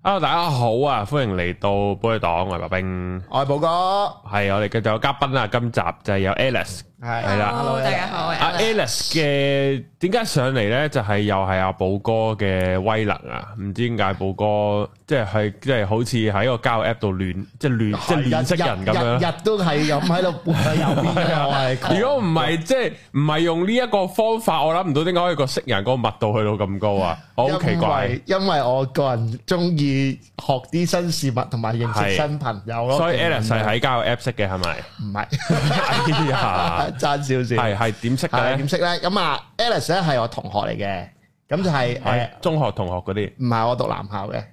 Hello， 大家好啊！歡迎嚟到寶藥黨，我係白兵， 我係寶哥， 係我哋繼續有嘉賓啊！今集就係有 Alice， 係啦 ，Hello， 大家好， 阿 Alice 嘅點解上嚟咧？就係又係阿寶哥嘅威能啊！唔知點解寶哥即係好似喺個交友 app 度亂識人咁樣， 日都係咁喺度撥喺右邊嘅。我係如果唔係即係唔係用呢一個方法，我諗唔到點解可以個識人嗰個密度去到咁高啊！我好奇怪， 因為我個人中意學啲新事物同埋認識新朋友咯。 所以 Alice 係喺交友 app 識嘅係咪？ 唔係， 哎呀， 爭少少。 係點識嘅咧？ 點識咧？咁啊 ，Alice 咧係我同學嚟嘅，咁就係中學同學嗰啲。 唔係，我讀男校嘅。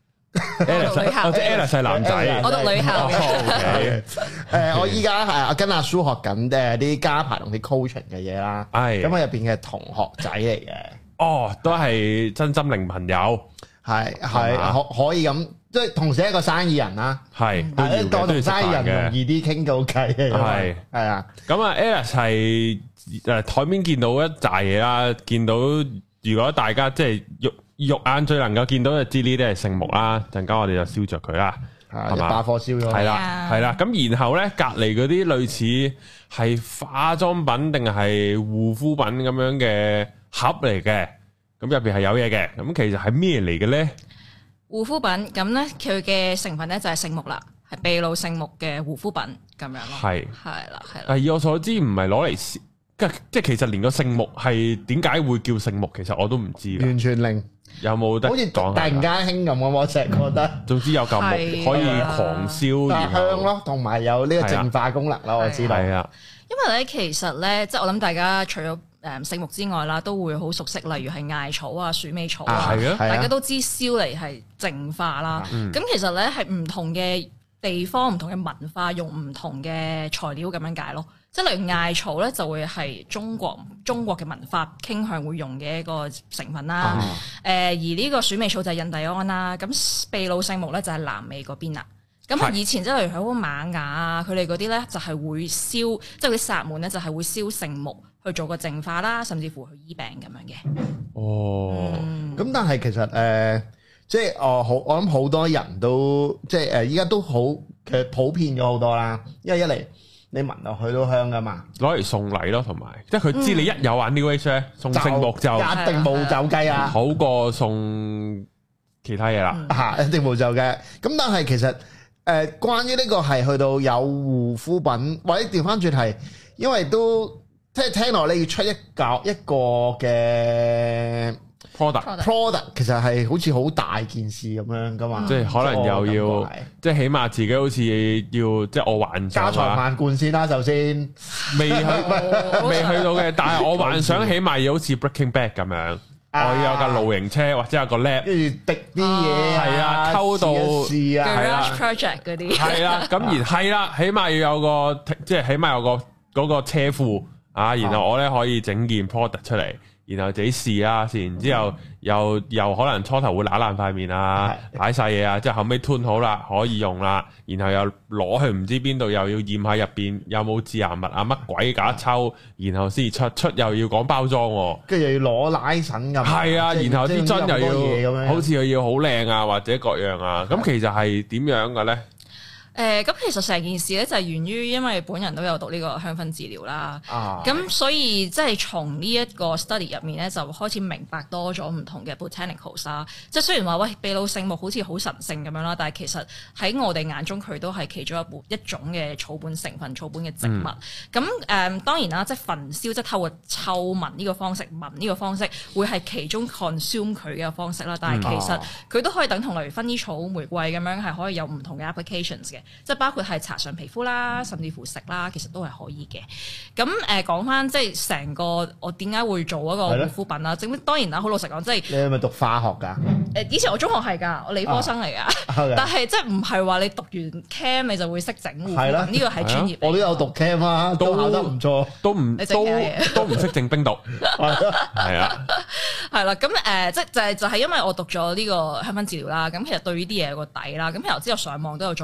Alice 即係 Alice 係男仔， 我讀女校嘅。 我依家係跟阿叔學緊啲加排同啲 coaching 嘅嘢啦。係咁喺入邊嘅同學仔嚟嘅。 哦，都係真心靈朋友。係可以咁，即係同時一個生意人啦。係，當同生意人容易啲傾到偈嘅。係啊。咁啊 ，Alice 係台面見到一紮嘢啦，見到如果大家即係肉眼最能夠見到就知呢啲係聖木啦。陣間我哋就燒着佢啦，係嘛？把火燒咗。係啦。咁然後咧，隔籬嗰啲類似係化妝品定係護膚品咁樣嘅盒嚟嘅。咁入邊係有嘢嘅，咁其實係咩嚟嘅咧？ 護膚品咁咧，佢嘅成分咧就係聖木啦，係秘魯聖木嘅護膚品咁樣咯。係啦。 但係以我所知唔係攞嚟，即係其實連個聖木係點解會叫聖木，其實我都唔知。完全零。有冇得？好似突然間興咁，我成日覺得。總之有嚿木可以狂燒，然後香咯，同埋有呢個淨化功能咯，我知道。係啊。 因為咧，其實咧，即係我諗大家除咗聖木之外啦，都會好熟悉，例如係艾草啊、鼠尾草啊，大家都知燒嚟係淨化啦。咁其實咧係唔同嘅地方、唔同嘅文化用唔同嘅材料咁樣解咯。即係例如艾草咧，就會係中國嘅文化傾向會用嘅一個成分啦。而呢個鼠尾草就係印第安啦。咁秘魯聖木咧就係南美嗰邊啦。咁以前即係例如喺好瑪雅啊，佢哋嗰啲咧就係會燒，即係啲薩滿咧就係會燒聖木去做個淨化啦，甚至乎去醫病咁樣嘅。哦， 咁但係其實即係我諗好多人都即係依家都好其實普遍咗好多啦，因為一嚟你聞落去都香噶嘛， 攞嚟送禮咯，同埋即係佢知你一有玩 New Age 咧，送聖木就一定冇走雞啊， 好過送其他嘢啦， 一定冇走雞。咁但係其實關於呢個係去到有護膚品，或者調翻轉係，因為都即係聽落你要出一個嘅 product， 其實係好似好大件事咁樣噶嘛， 即係可能又要，即係起碼自己好似要，即係我幻想家財萬貫先啦，首先未去到嘅，但係我幻想起碼要好似 Breaking Bad 咁樣。我要有架露營車或者有個 lab， 跟住滴啲嘢， 係啊，溝到 Garage Project 嗰啲， 係啦，咁而係啦，起碼要有個，即係起碼有個嗰個車庫啊，然後我咧可以整件 product 出嚟，然後自己試啦，試完之後又可能初頭會揦爛塊面啊，擺晒嘢啊，即係後尾吞好啦，可以用啦，然後又攞去唔知邊度，又要驗下入邊有冇致癌物啊，乜鬼假抽，然後先出又要講包裝， 跟住又要攞拉繩咁， 係啊，然後啲樽又要好似又要好靚啊，或者各樣啊，咁其實係點樣嘅咧？ 咁其實成件事咧就係源於，因為本人都有讀呢個香薰治療啦，咁所以即係從呢一個 study 入面咧，就開始明白多咗唔同嘅 botanicals 啦。即係雖然話喂秘魯聖木好似好神聖咁樣啦，但係其實喺我哋眼中佢都係其中一種嘅草本成分、草本嘅植物。咁當然啦，即係焚燒，即係透過嗅聞呢個方式、聞呢個方式，會係其中 consume 佢嘅方式啦。但係其實佢都可以等同例如薰衣草、玫瑰咁樣，係可以有唔同嘅 applications 嘅。即係包括係搽上皮膚啦，甚至乎食啦，其實都係可以嘅。咁講翻即係成個我點解會做嗰個護膚品啦？整當然啦，好老實講，即係你係咪讀化學㗎？ 以前我中學係㗎，我理科生嚟㗎。但係即係唔係話你讀完 Chem 你就會識整護膚品？呢個係專業。我都有讀 Chem 啊，都考得唔錯，都唔識整冰毒。係啊， 係啦。咁即係就係因為我讀咗呢個香薰治療啦。咁其實對呢啲嘢有個底啦。咁其實之後上網都有再讀過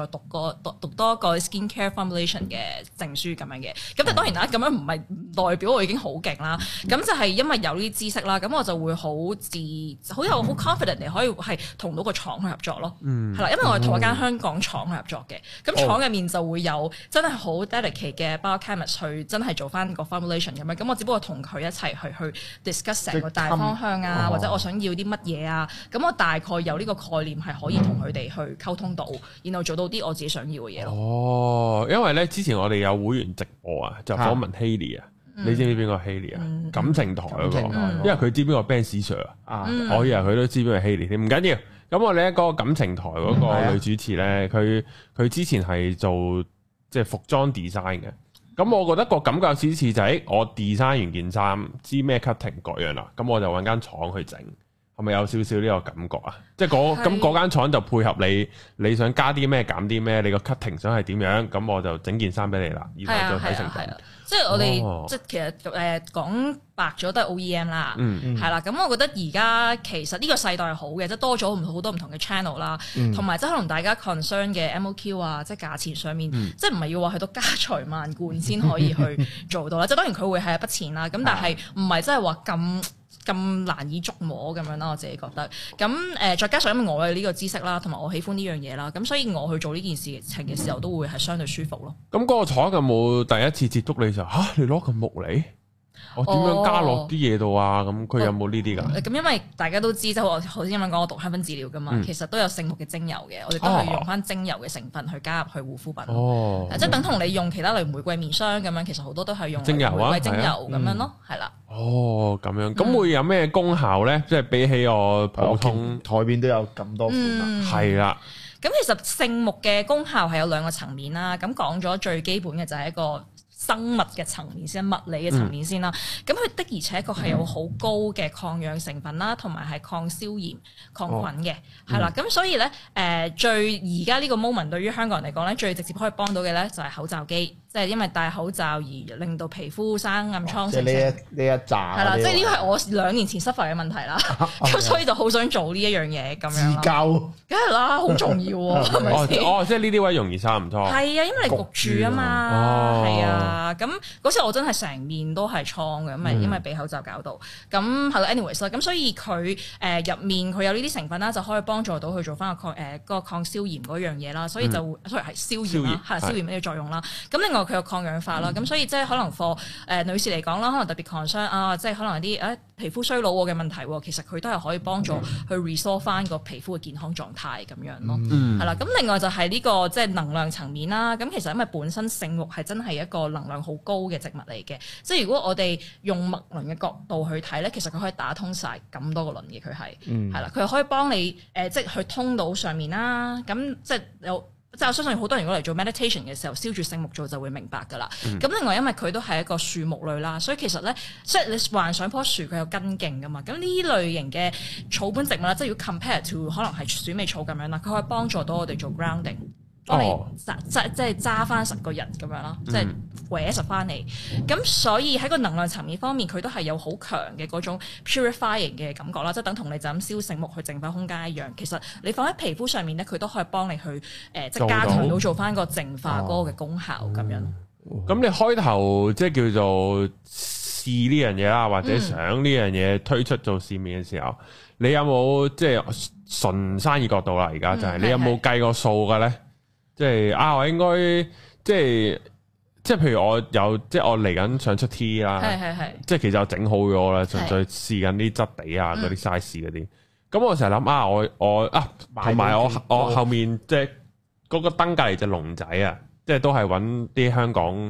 讀多一個 skincare formulation 嘅證書咁樣嘅。咁但係當然啦，咁樣唔係代表我已經好勁啦。咁就係因為有呢啲知識啦，咁我就會好有 confident 地可以係同到個廠去合作咯。係啦，因為我係同一間香港廠去合作嘅。咁廠入面就會有真係好 dedicate 嘅 biochemist 去真係做翻個 formulation 咁樣。咁我只不過同佢一齊去 discuss 成個大方向啊，或者我想要啲乜嘢啊。咁我大概有呢個概念係可以同佢哋去溝通到，然後做到啲我自己想要嘅嘢咯。 哦，因為咧之前我哋有會員直播啊，就訪問 Haley 啊，你知唔知邊個 Haley 啊？感情台嗰個，因為佢知邊個 Ben Sir 啊，我以為佢都知邊個 Haley 添，唔緊要。咁我哋一個感情台嗰個女主持咧，佢之前係做即係服裝 design 嘅。咁我覺得個感覺似就係我 design 完件衫，知咩 cutting 各樣啦，咁我就揾間廠去整。係咪有少少呢個感覺啊？即係嗰間廠就配合你想加啲咩減啲咩，你個 cutting 想係點樣，咁我就整件衫俾你啦，然後再睇成品。 即係我哋即係其實講白咗都係 OEM 啦，係啦。咁我覺得而家其實呢個世代係好嘅，即係多咗好多唔同嘅 channel 啦，同埋即係可能大家 concern 嘅 MOQ 啊，即係價錢上面，即係唔係要話去到家財萬貫先可以去做到啦。即係當然佢會係一筆錢啦，咁但係唔係真係話咁難以捉摸咁樣啦，我自己覺得。咁再加上因為我有呢個知識啦，同埋我喜歡呢樣嘢啦，咁所以我去做呢件事情嘅時候都會係相對舒服咯。咁嗰個廠有冇第一次接觸你就你攞個木嚟？我點樣加落啲嘢度啊？咁佢有冇呢啲㗎？ 咁因為大家都知，即係我頭先咁樣講，我讀香薰治療㗎嘛，其實都有聖木嘅精油嘅，我哋都係用翻精油嘅成分去加入去護膚品。即係等同你用其他類玫瑰面霜咁樣，其實好多都係用玫瑰精油咁樣咯，係啦。 哦，咁樣咁會有咩功效咧？即係比起我普通台面都有咁多款啦， 係啦。 咁其實聖木嘅功效係有兩個層面啦。咁講咗最基本嘅就係一個生物嘅層面先，物理嘅層面先啦。咁佢的而且確係有好高嘅抗氧成分啦，同埋係抗消炎、抗菌嘅，係啦。咁所以咧，最而家呢個 moment 對於香港人嚟講咧，最直接可以幫到嘅咧就係口罩機。即係因為戴口罩而令到皮膚生暗瘡成。 呢一紮係啦， 即係呢個係我2年前 suffer 嘅問題啦。咁所以就好想做呢一樣嘢咁樣。 自救， 梗係啦，好重要喎，係咪先？ 即係呢啲位容易生暗瘡。係啊，因為你焗住啊嘛。係啊，咁嗰時我真係成面都係瘡嘅，因為俾口罩搞到。咁係咯 ，anyways 啦，咁所以佢入面佢有呢啲成分啦，就可以幫助到佢做翻個抗消炎嗰樣嘢啦。所以就所以係消炎啦，係消炎呢個作用啦。咁另外佢有抗氧化啦，咁所以即係可能 for 女士嚟講啦，可能特別 concern 啊，即係可能有啲皮膚衰老嘅問題，其實佢都係可以幫助去 restore 翻個皮膚嘅健康狀態咁樣咯，係啦。咁另外就係呢個即係能量層面啦。咁其實因為本身聖木係真係一個能量好高嘅植物嚟嘅，即係如果我哋用脈輪嘅角度去睇咧，其實佢可以打通晒咁多個輪嘅，佢係係啦，佢可以幫你即係去通到上面啦。咁即係即係我相信好多人如果嚟做 meditation 嘅時候，燒住聖木做就會明白㗎啦。咁另外因為佢都係一個樹木類啦，所以其實咧，即係你幻想棵樹佢有根莖㗎嘛。咁呢類型嘅草本植物啦，即係如果 compare to 可能係鼠尾草咁樣啦，佢可以幫助到我哋做 grounding。幫你即係揸翻實個人咁樣啦，即係搲實翻嚟。咁所以喺個能量層面方面，佢都係有好強嘅嗰種 purifying 嘅感覺啦，即係等同你就咁燒聖木去淨化空間一樣。其實你放喺皮膚上面咧，佢都可以幫你去即係加強到做翻個淨化嗰個嘅功效咁樣。 咁你開頭即係叫做試呢樣嘢啦，或者想呢樣嘢推出做市面嘅時候，你有冇即係純生意角度啦？而家就係你有冇計過數嘅咧？即係我應該即係譬如我有即係我嚟緊想出 T 啦，即係其實我整好咗啦，純粹試緊啲質地啊嗰啲 size 嗰啲。咁我成日諗我同埋我後面即係嗰個燈隔離隻龍仔啊，即係都係揾啲香港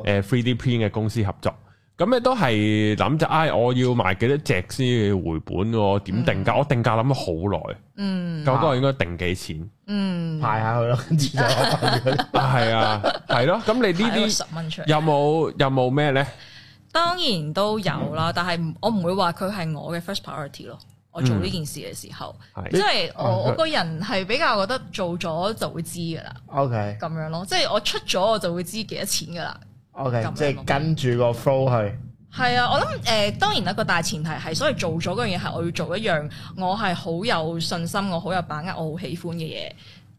3D print 嘅公司合作。咁你都係諗就我要賣幾多隻先要回本喎？點定價？我定價諗咗好耐。究竟我應該定幾錢？ 派下去咯，跟住就係啊，係咯。咁你呢啲 10蚊出嚟有冇咩咧？ 當然都有啦，但係我唔會話佢係我嘅 first priority 咯。我做呢件事嘅時候，即係我個人係比較覺得做咗就會知噶啦。OK，咁樣咯，即係我出咗我就會知幾多錢噶啦。 OK，即係跟住個 flow 去。 係啊，我諗當然一個大前提係，所以做咗嗰樣嘢係我要做一樣我係好有信心、我好有把握、我好喜歡嘅嘢。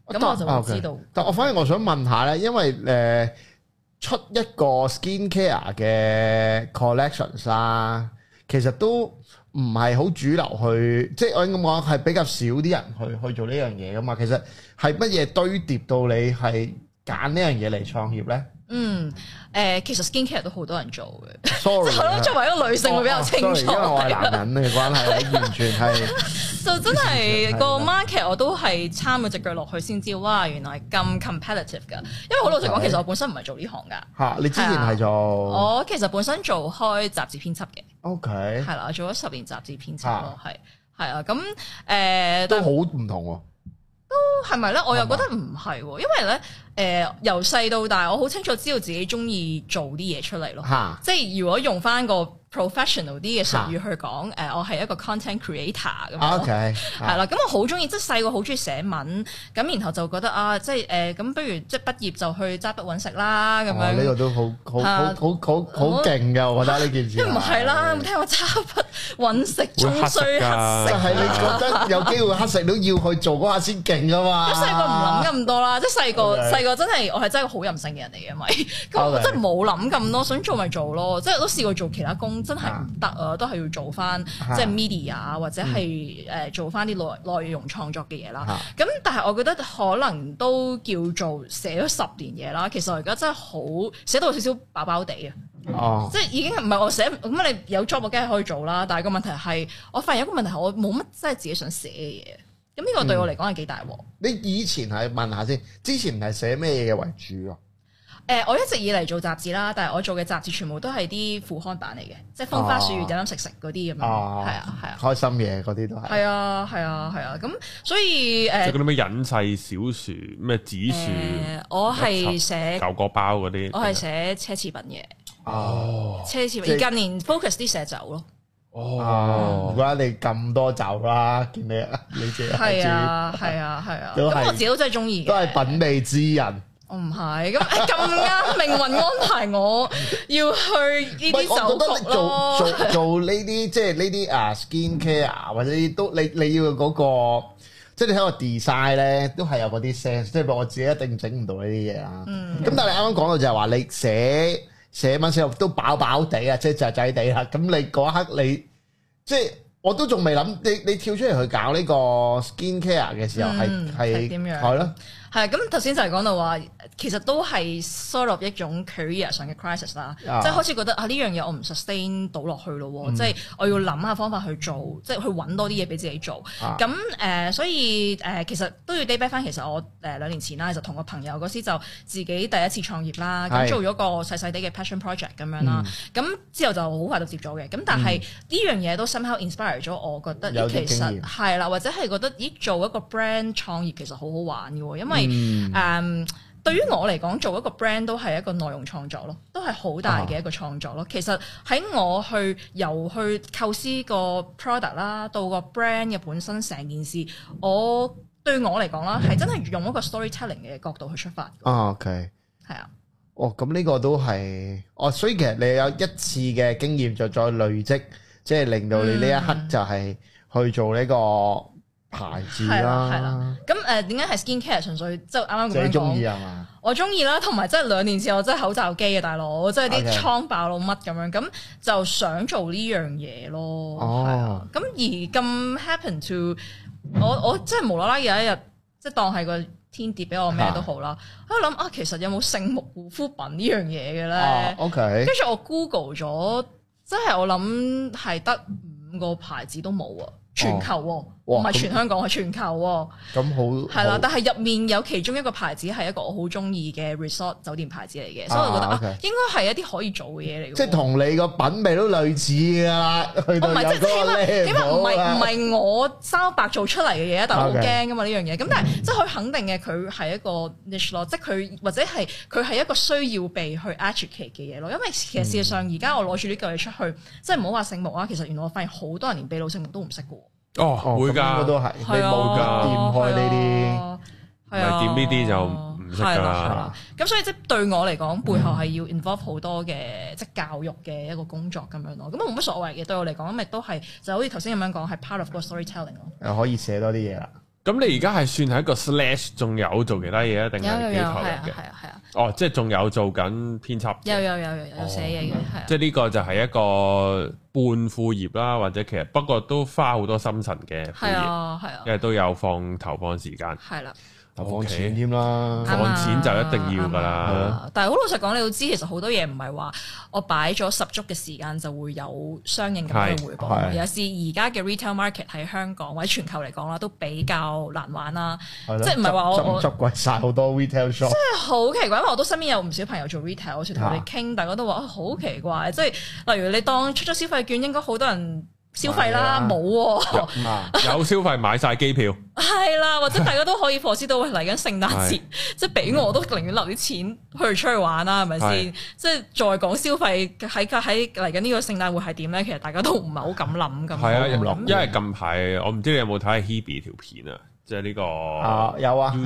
咁我就會知道。 但我反而我想問下咧，因為出一個 skincare 嘅 collections 啦，其實都唔係好主流去，即係我應該講係比較少啲人去做呢樣嘢噶嘛。其實係乜嘢堆疊到你係揀呢樣嘢嚟創業咧？ 其實 skincare 都好多人做嘅。 Sorry， 即係我諗作為一個女性會比較清楚， 因為我係男人嘅關係，完全係就真係個 market 我都係參咗隻腳落去先知，哇！原來咁 competitive 㗎。因為好老實講，其實我本身唔係做呢行㗎。嚇， 你之前係做？ 我其實本身做開雜誌編輯嘅。 OK。 係啦，做咗10年雜誌編輯咯，係啊，咁都好唔同喎。 都係咪咧？我又覺得唔係喎，因為咧由細到大，我好清楚知道自己中意做啲嘢出嚟咯。即係如果用翻個 professional 啲嘅術語去講，我係一個 content creator 咁樣。OK，係啦，咁我好中意，即係細個好中意寫文，咁然後就覺得啊，即係咁不如即係畢業就去揸筆揾食啦咁樣。呢個都好勁㗎，我覺得呢件事。唔係啦，有冇聽過揸筆揾食終須乞食？就係你覺得有機會乞食都要去做嗰下先勁㗎嘛。咁細個唔諗咁多啦，即係細個真係我係真係個好任性嘅人嚟嘅，咪咁我真係冇諗咁多，想做咪做咯。即係都試過做其他工，真係唔得啊，都係要做翻即係 media 或者係做翻啲內容創作嘅嘢啦。咁但係我覺得可能都叫做寫咗10年嘢啦。其實我而家真係好寫到少少飽飽地啊，即係已經唔係我寫咁你有 job 我梗係可以做啦。但係個問題係我發現有個問題係我冇乜真係自己想寫嘅嘢。咁呢個對我嚟講係幾大鑊。你以前係問下先，之前係寫咩嘢為主啊？我一直以嚟做雜誌啦，但係我做嘅雜誌全部都係啲副刊版嚟嘅，即係風花雪月飲飲食食嗰啲咁樣。係啊，開心嘢嗰啲都係。係啊，咁所以即係嗰啲咩隱世小樹咩紫樹，我係寫舊果包嗰啲。我係寫奢侈品嘅。奢侈品而近年 focus 啲寫酒咯。唔怪得你咁多酒啦，見你自己係啊，咁我自己都真係中意嘅，都係品味之人。我唔係咁啱命運安排我要去呢啲酒局咯。做呢啲即係呢啲skin care 或者都你要嗰個，即係你睇個 design 咧，都係有嗰啲 sense。即係我自己一定整唔到呢啲嘢啦。咁但係你啱啱講到就係話你寫文寫到都飽飽地啊，即係仔地啦。咁你嗰一刻你即係我都仲未諗，你跳出嚟去搞呢個 skin care 嘅時候係點樣？係咯。係咁頭先就係講到話，其實都係 sort of 一種 career 上嘅 crisis 啦，即係開始覺得呢樣嘢我唔 sustain 到落去咯，即係我要諗下方法去做，即係去揾多啲嘢俾自己做。咁所以其實都要 day back 翻。其實我2年前啦，就同個朋友嗰時就自己第一次創業啦，咁做咗個細細啲嘅 passion project 咁樣啦。咁之後就好快就接咗嘅。咁但係呢樣嘢都 somehow inspire 咗我，覺得其實係啦，或者係覺得做一個 brand 創業其實好好玩嘅喎，因為對於我嚟講，做一個 brand 都係一個內容創作咯，都係好大嘅一個創作咯。其實喺我由去構思個 product 啦，到個 brand 嘅本身成件事，對我嚟講啦，係真係用一個 storytelling 嘅角度去出發。OK， 係啊。咁呢個都係所以其實你有一次嘅經驗就再累積，即係令到你呢一刻就係去做呢個牌子啦，係啦。咁點解係 skincare？ 純粹即係啱啱咁樣講。你中意係嘛？我中意啦，同埋即係2年前我真係口罩機嘅大佬，即係啲瘡爆到乜咁樣，咁就想做呢樣嘢咯。係啊。咁而咁 happen to 我即係無啦啦有一日，即係當係個天跌俾我咩都好啦。喺度諗其實有冇聖木護膚品呢樣嘢嘅咧？OK。跟住我 Google 咗，即係我諗係得5個牌子都冇啊。全球唔係全香港，係全球咁好係啦。但係入面有其中一個牌子係一個我好中意嘅 resort 酒店牌子嚟嘅，所以我覺得應該係一啲可以做嘅嘢嚟嘅。即係同你個品味都類似㗎啦。去到有個 level，起碼唔係我三白做出嚟嘅嘢，但係好驚㗎嘛呢樣嘢。咁但係即係佢肯定嘅，佢係一個 niche 咯，即係佢或者係佢係一個需要被去 educate 嘅嘢咯。因為其實事實上而家我攞住呢嚿嘢出去，即係唔好話聖木啊，其實原來我發現好多人連秘魯聖木都唔識㗎。會㗎，都係你冇㗎，掂開呢啲，唔係掂呢啲就唔識㗎啦。咁所以即係對我嚟講，背後係要 involve 好多嘅即係教育嘅一個工作咁樣咯。咁冇乜所謂嘅，對我嚟講，咁亦都係就好似頭先咁樣講，係 part of 個 storytelling 咯。又可以寫多啲嘢啦。 咁你而家係算係一個 slash，仲有做其他嘢啊？定係幾投入嘅？ 係啊。 哦，即係仲有做緊編輯。 有寫嘢嘅，係啊。 即係呢個就係一個半副業啦，或者其實不過都花好多心神嘅副業。係啊。因為都有投放時間。係啦。 投放錢添啦， 放錢就一定要噶啦。 但係好老實講，你要知其實好多嘢唔係話我擺咗十足嘅時間就會有相應咁嘅回報。有時而家嘅 retail market 喺香港或者全球嚟講啦，都比較難玩啦。即係唔係話我執貴晒好多 retail shop。 即係好奇怪，因為我都身邊有唔少朋友做 retail，好似同佢哋傾，大家都話好奇怪。即係例如你當出咗消費券，應該好多人消費啦，冇有消費買晒機票， 係啦，或者大家都可以 foresee 到嚟緊聖誕節，即係俾我都寧願留啲錢去出去玩啦，係咪先？即係再講消費喺嚟緊呢個聖誕會係點咧？其實大家都唔係好敢諗咁。 係啊，因為近排我唔知你有冇睇 Hebe 條片啊，即係呢個有啊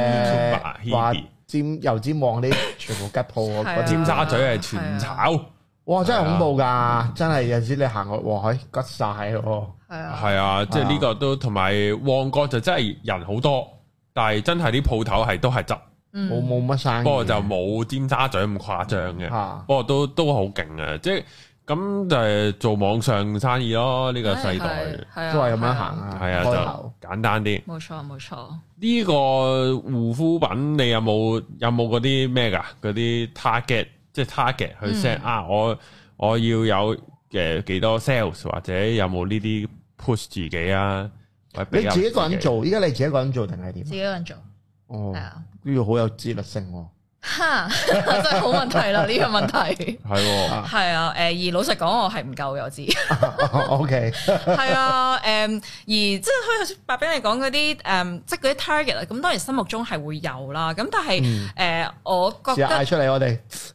，Hebe 油尖旺啲全部吉鋪， 個尖沙咀係全炒。 哇！真係恐怖㗎，真係有陣時你行過，哇！吉晒喎。 係啊，即係呢個都同埋旺角就真係人好多，但係真係啲鋪頭係都係執， 冇乜生意。 不過就冇尖沙咀咁誇張嘅，不過都好勁啊！即係咁就係做網上生意咯。呢個世代都係咁樣行啊。 係啊，就簡單啲。 冇錯冇錯。 呢個護膚品你有冇嗰啲咩㗎？嗰啲 target？即係 target 去 set 我要有幾多 sales 或者有冇呢啲 push 自己啊？ 你自己一個人做，依家你自己一個人做定係點？ 自己一個人做。 哦，呢個好有自律性喎。 哈，真係好問題啦！呢個問題係啊，而老實講，我係唔夠嘅，我知。 OK，係啊，而即係好似白兵你講嗰啲即係嗰啲 target 啊，咁當然心目中係會有啦。咁但係我覺得嗌出嚟，我哋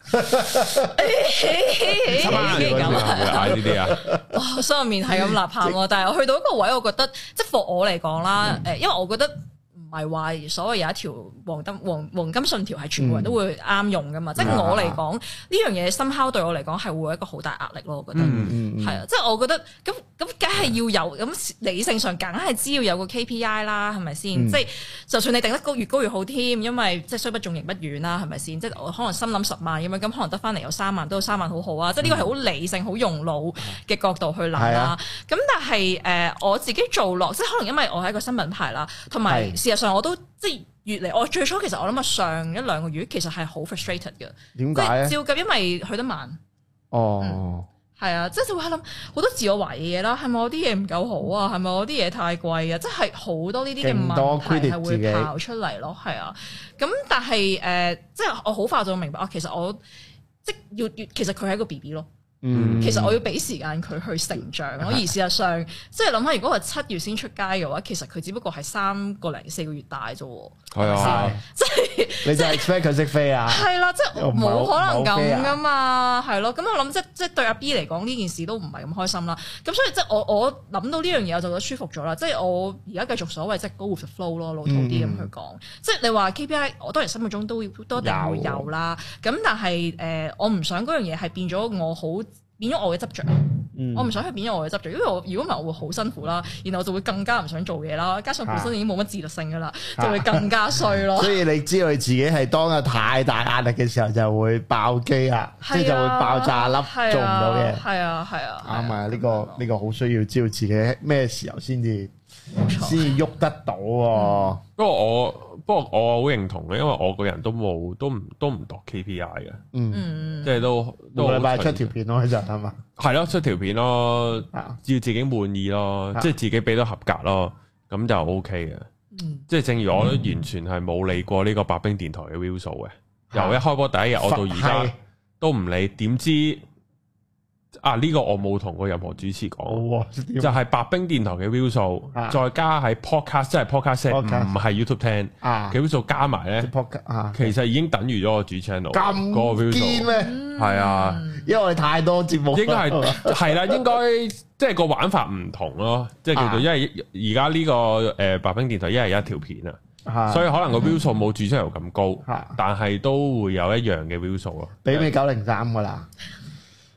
嗌呢啲啊， 哇，心入面係咁吶喊喎。但係我去到一個位，我覺得即係 for 我嚟講啦，因為我覺得。唔係話所謂有一條黃金信條係全部人都會啱用噶嘛？即係我嚟講呢樣嘢somehow對我嚟講係會有一個好大壓力咯。我覺得係啊，即係我覺得咁梗係要有咁理性上梗係知要有個 KPI 啦，係咪先？即係就算你定得越高越好添，因為即係雖不中，刑不遠啦，係咪先？即係我可能心諗10萬咁樣，咁可能得翻嚟有3萬，都有3萬好好啊！即係呢個係好理性、好用腦嘅角度去諗啦。咁但係我自己做落，即係可能因為我係一個新品牌啦，同埋事實上我都即係越嚟，我最初其實我諗上1-2個月其實係好 frustrated 嘅。 點解咧？ 照計，因為去得慢。 哦， 係啊，即係就會諗好多自我懷疑嘢啦。係咪我啲嘢唔夠好啊？係咪我啲嘢太貴啊？即係好多呢啲嘅問題係會跑出嚟咯。係啊，咁但係即係我好快就明白啊。其實我即係其實佢係一個 BB 咯。其實我要俾時間佢去成長咯，而事實上，即係諗下，如果係7月先出街嘅話，其實佢只不過係3個零4個月大啫喎。係啊，即係你就 expect 佢識飛啊？ 係啦，即係冇可能咁噶嘛，係咯。咁我諗即係對阿 B 嚟講呢件事都唔係咁開心啦。咁所以即係我諗到呢樣嘢，我就覺得舒服咗啦。即係我而家繼續所謂即係 go with the flow 咯，老土啲咁去講。即係你話 KPI，我當然心目中都一定會有啦。咁但係我唔想嗰樣嘢係變咗我嘅執着，我唔想去變咗我嘅執着，因為如果唔係我會好辛苦啦，然後我就會更加唔想做嘢啦，加上本身已經冇乜自律性噶啦，就會更加衰咯。 所以你知道你自己係當有太大壓力嘅時候就會爆機啊，即係就會爆炸粒，做唔到嘢。係啊，啱啊，呢個好需要知道自己咩時候先至喐得到。 不過我好認同嘅，因為我個人都唔度 KPI 嘅，即係都個禮拜出條片咯，其實係嘛？ 係咯，出條片咯，只要自己滿意咯，即係自己俾到合格咯，咁就 OK 嘅。即係正如我都完全係冇理過呢個白兵電台嘅 view 數嘅，由一開播第一日我到而家都唔理，點知？呢個我冇同過任何主持講，就係白兵電台嘅 view 數，再加喺 podcast， 即係 podcast 唔係 YouTube 聽嘅 view 數加埋咧，其實已經等於咗我主 channel 嗰個 view 數咩？係啊， 因為我哋太多節目， 應該係啦，應該即係個玩法唔同咯，即係叫做因為而家呢個白兵電台一日一條片啊，所以可能個 view 數冇主 channel 咁高，但係都會有一樣嘅 view 數咯， 媲美903噶啦。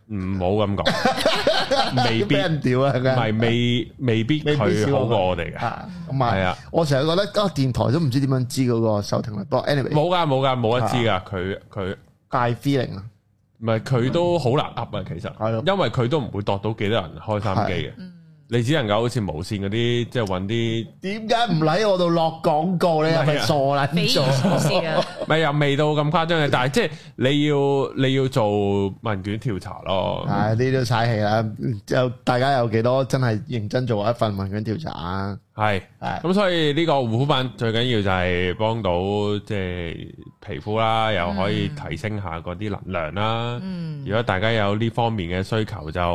唔好咁講，未必俾人屌啊！ 唔係未必佢好過我哋嘅。 咁係啊！我成日覺得電台都唔知點樣知嗰個收聽率。不過 anyway 冇得知㗎，佢大 feeling 啊！ 唔係佢都好難噏啊，其實，因為佢都唔會度到幾多人開三機嘅。你只能夠好似無線嗰啲，即係揾啲。點解唔喺我度落廣告咧？你係咪傻啦？ 匪夷所思啊！ 咪又未到咁誇張嘅，但係即係你要做問卷調查咯。 係呢啲都嘥氣啦！就大家有幾多真係認真做一份問卷調查啊？ 係咁，所以呢個護膚品最緊要就係幫到即係皮膚啦，又可以提升下嗰啲能量啦。如果大家有呢方面嘅需求，就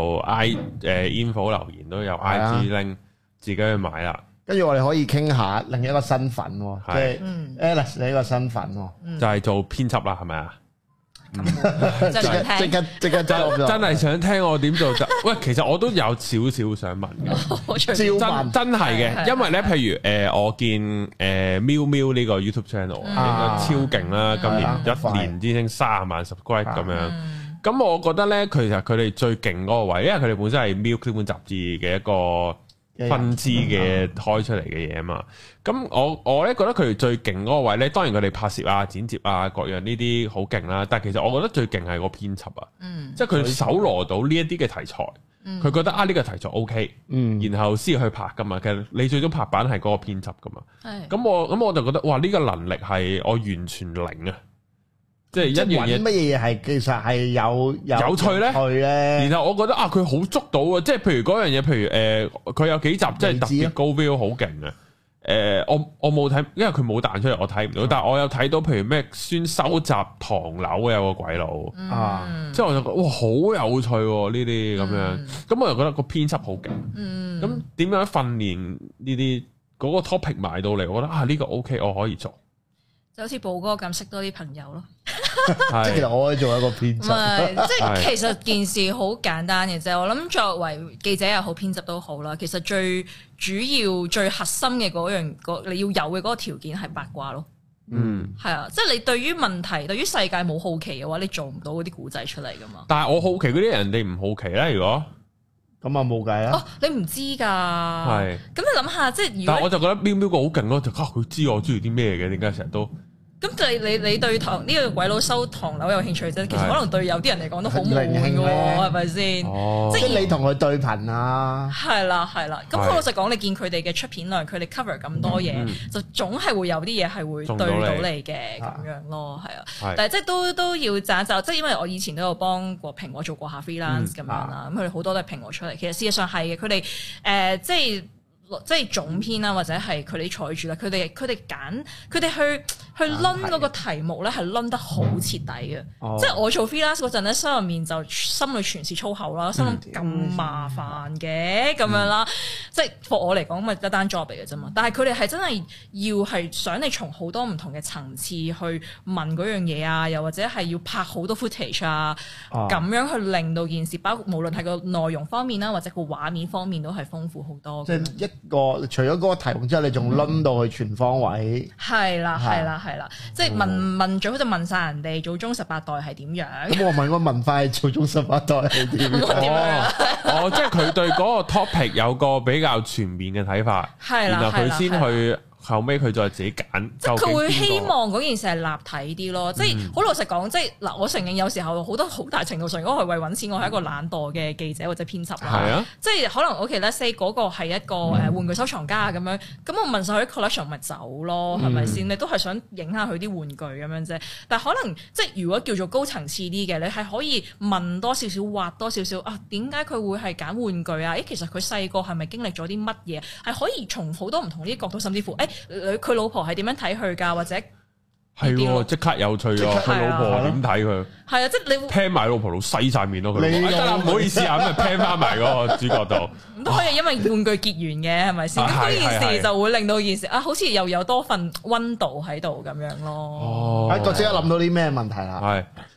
info 留言都有 IG link 自己去買啦。跟住我哋可以傾下另一個身份，即係 Alice 你呢個身份， 就係做編輯啦，係咪啊？ 即刻真係想聽我點做就喂，其實我都有少少想問嘅，真係嘅，因為咧，譬如我見喵喵呢個 YouTube channel 應該超勁啦，今年一年之星30萬 subscribe 咁樣，咁我覺得咧，其實佢哋最勁嗰個位，因為佢哋本身係喵呢本雜誌嘅一個分支嘅開出嚟嘅嘢啊嘛，咁我咧覺得佢哋最勁嗰個位咧，當然佢哋拍攝啊、剪接啊各樣呢啲好勁啦，但係其實我覺得最勁係個編輯啊，即係佢搜羅到呢一啲嘅題材，佢覺得呢個題材 OK，然後先去拍噶嘛，其實你最終拍板係嗰個編輯噶嘛，咁我就覺得哇呢個能力係我完全零啊！即係一樣嘢， 乜嘢係其實係有趣咧？然後我覺得佢好捉到啊！即係譬如嗰樣嘢，譬如佢有幾集即係特別高 view 好勁啊！我冇睇，因為佢冇彈出嚟，我睇唔到。但係我有睇到，譬如咩先收集唐樓有個鬼佬即係我就覺得哇好有趣呢啲咁樣。咁我又覺得個編輯好勁。咁點樣訓練呢啲嗰個 topic 埋到嚟？我覺得呢個 OK，我可以做。 就好似寶哥咁識多啲朋友咯， 即係其實我可以做一個編輯。 唔係，即係其實件事好簡單嘅啫。我諗作為記者又好，編輯都好啦。其實最主要、最核心嘅嗰樣，你要有嘅嗰個條件係八卦咯。係啊，即係你對於問題、對於世界冇好奇嘅話，你做唔到嗰啲古仔出嚟噶嘛。 但係我好奇嗰啲人哋唔好奇咧，如果咁啊冇計啊！ 你唔知㗎。係。咁你諗下，即係如果， 但係我就覺得喵喵個好勁咯，就佢知我中意啲咩嘅，點解成日都？ 咁就係你對呢個鬼佬收唐樓有興趣啫，其實可能對有啲人嚟講都好悶嘅喎，係咪先？即係你同佢對頻啊！ 係啦。咁老實講，你見佢哋嘅出片量，佢哋 cover 咁多嘢，就總係會有啲嘢係會對到你嘅咁樣咯，係啊。但係即係都要讚就，即係因為我以前都有幫過蘋果做過下 freelance 咁樣啦，咁佢哋好多都係蘋果出嚟。其實事實上係嘅，佢哋即係總編啦，或者係佢哋採主啦，佢哋揀佢哋去攆嗰個題目咧，係攆得好徹底嘅。即係我做 freelance 嗰陣咧，心入面就心裏全是粗口啦，心諗咁麻煩嘅咁樣啦。即係 for 我嚟講，咪一單 job 嚟嘅啫嘛。但係佢哋係真係要係想你從好多唔同嘅層次去問嗰樣嘢啊，又或者係要拍好多 footage 啊，咁樣去令到件事，包括無論係個內容方面啦，或者個畫面方面都係豐富好多。 即係除咗嗰個題目之後，你仲攆到去全方位。係啦，即係問最好就問晒人哋祖宗18代係點樣。咁我問個文化係祖宗18代係點樣？ 即係佢對嗰個 topic 有個比較全面嘅睇法，然後佢先去。後尾佢再自己揀， 即係佢會希望嗰件事係立體啲咯。即係好老實講，即係嗱，我承認有時候好多好大程度上，如果係為揾錢，我係一個懶惰嘅記者或者編輯啦。係啊，即係可能 OK，let's say 嗰個係一個玩具收藏家咁樣，咁我問晒佢啲 collection 咪走咯，係咪先？你都係想影下佢啲玩具咁樣啫。但係可能即係如果叫做高層次啲嘅，你係可以問多少少，挖多少少啊？點解佢會係揀玩具啊？其實佢細個係咪經歷咗啲乜嘢？係可以從好多唔同啲角度，甚至乎佢老婆係點樣睇佢㗎？或者係即刻有趣啊！佢老婆點睇佢？係啊，即係你聽埋老婆度洗晒面咯。佢得啦，唔好意思啊，咁就聽翻埋嗰個主角度。 都可以因為玩具結緣嘅，係咪先？咁呢件事就會令到件事好似又有多份溫度喺度咁樣咯。 我即刻諗到啲咩問題啦？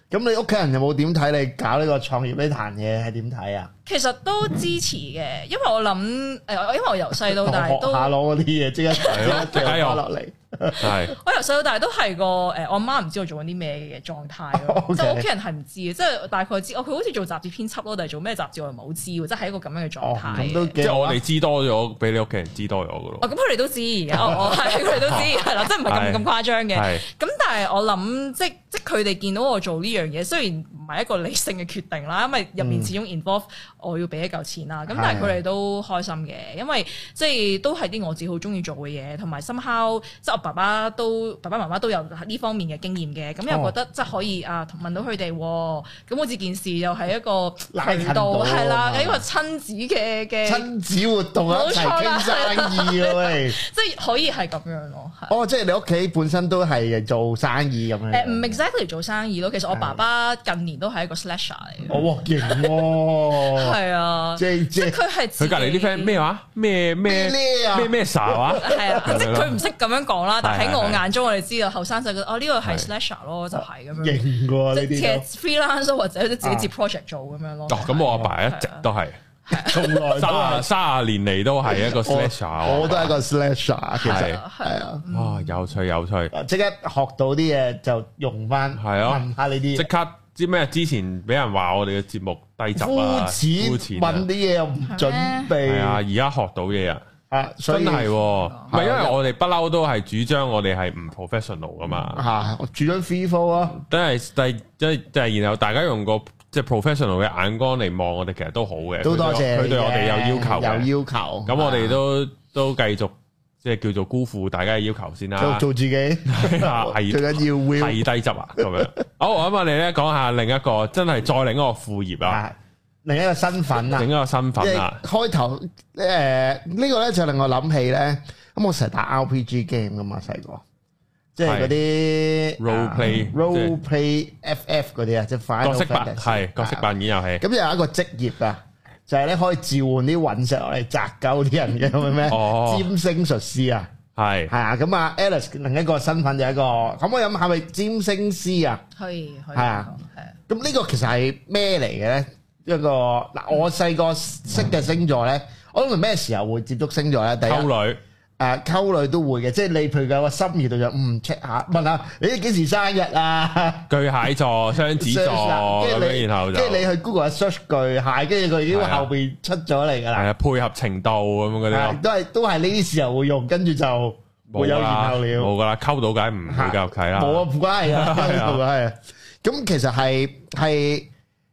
咁你屋企人有冇點睇你搞呢個創業呢壇嘢係點睇啊？ 其實都支持嘅，因為我諗因為我由細到大都學下攞嗰啲嘢，即刻掉落嚟。 係我由細到大都係個我媽唔知我做緊啲咩嘅狀態咯，即係屋企人係唔知嘅，即係大概知佢好似做雜誌編輯咯，但係做咩雜誌我又唔係好知喎，即係一個咁樣嘅狀態。 即係我哋知多咗，比你屋企人知多咗嘅咯。 咁佢哋都知，我係佢哋都知，係啦，即係唔係咁誇張嘅。咁但係我諗，即佢哋見到我做呢樣嘢，雖然唔係一個理性嘅決定啦，因為入面始終 involve 我要俾一嚿錢啦。咁但係佢哋都開心嘅，因為即係都係啲我自己好中意做嘅嘢，同埋 somehow 即係我爸爸媽媽都有呢方面嘅經驗嘅，咁又覺得即係可以問到佢哋，咁好似件事又係一個渠道係啦，一個親子嘅親子活動一齊傾生意咯，喂， 即係可以係咁樣咯。 即係你屋企本身都係做生意咁樣？ 唔 exactly 做生意咯，其實我爸爸近年都係一個 slasher 嚟嘅。 哦，勁喎！係啊，即係佢係佢隔離啲 friend 咩話？咩 sa 話？ 係啊，即係佢唔識咁樣講啦，但喺我眼中我哋知道後生仔覺得呢個係 slasher 咯，就係咁樣。 勁喎呢啲， 即係 freelance 或者自己接 project 做咁樣咯。 咁我阿爸一直都係。從來30年嚟都係一個 slasher， 我都係一個 slasher， 其實係啊， 哇，有趣， 即刻學到啲嘢就用翻，係啊，問下呢啲， 即刻知咩？之前俾人話我哋嘅節目低級啊， 膚淺，問啲嘢又唔準備，係啊， 而家學到嘢啊， 真係，唔係因為我哋不嬲都係主張我哋係唔 professional 噶嘛， 我主張 free flow 啊， 都係然後大家用個即係 professional 嘅眼光嚟望我哋，其實都好嘅。都多謝佢對我哋有要求。有要求。咁我哋都繼續即係叫做辜負大家嘅要求先啦。做自己係最緊要係低質啊咁樣。好，咁我哋咧講下另一個真係再另一個副業啊， 另一個身份啊， 另一個身份啊。開頭呢個咧就令我諗起咧，咁我成日打 RPG game 噶嘛，細個。即係嗰啲 role play FF 嗰啲啊，即係角色扮係角色扮演遊戲。 咁有一個職業啊，就係咧可以召喚啲隕石落嚟砸鳩啲人嘅，咁咩？占星術師啊，係啊。咁啊 Alice 另一個身份就係一個，可唔可以諗下係咪占星師啊？可以係啊。咁呢個其實係咩嚟嘅咧？一個嗱，我細個識嘅星座咧，我諗係咩時候會接觸星座咧？第一溝女。溝女都會嘅，即係你譬如有個心意度就check 下，問下你幾時生日啊？ 巨蟹座、雙子座咁樣，然後就即係你去 Google search 巨蟹，跟住佢已經後邊出咗嚟噶啦。係啊， 配合程度咁樣嗰啲， 都係呢啲時候會用，跟住就冇有然後了。 冇噶啦，溝到梗唔會夠契啦。 冇啊，唔關係啊，係啊。咁其實係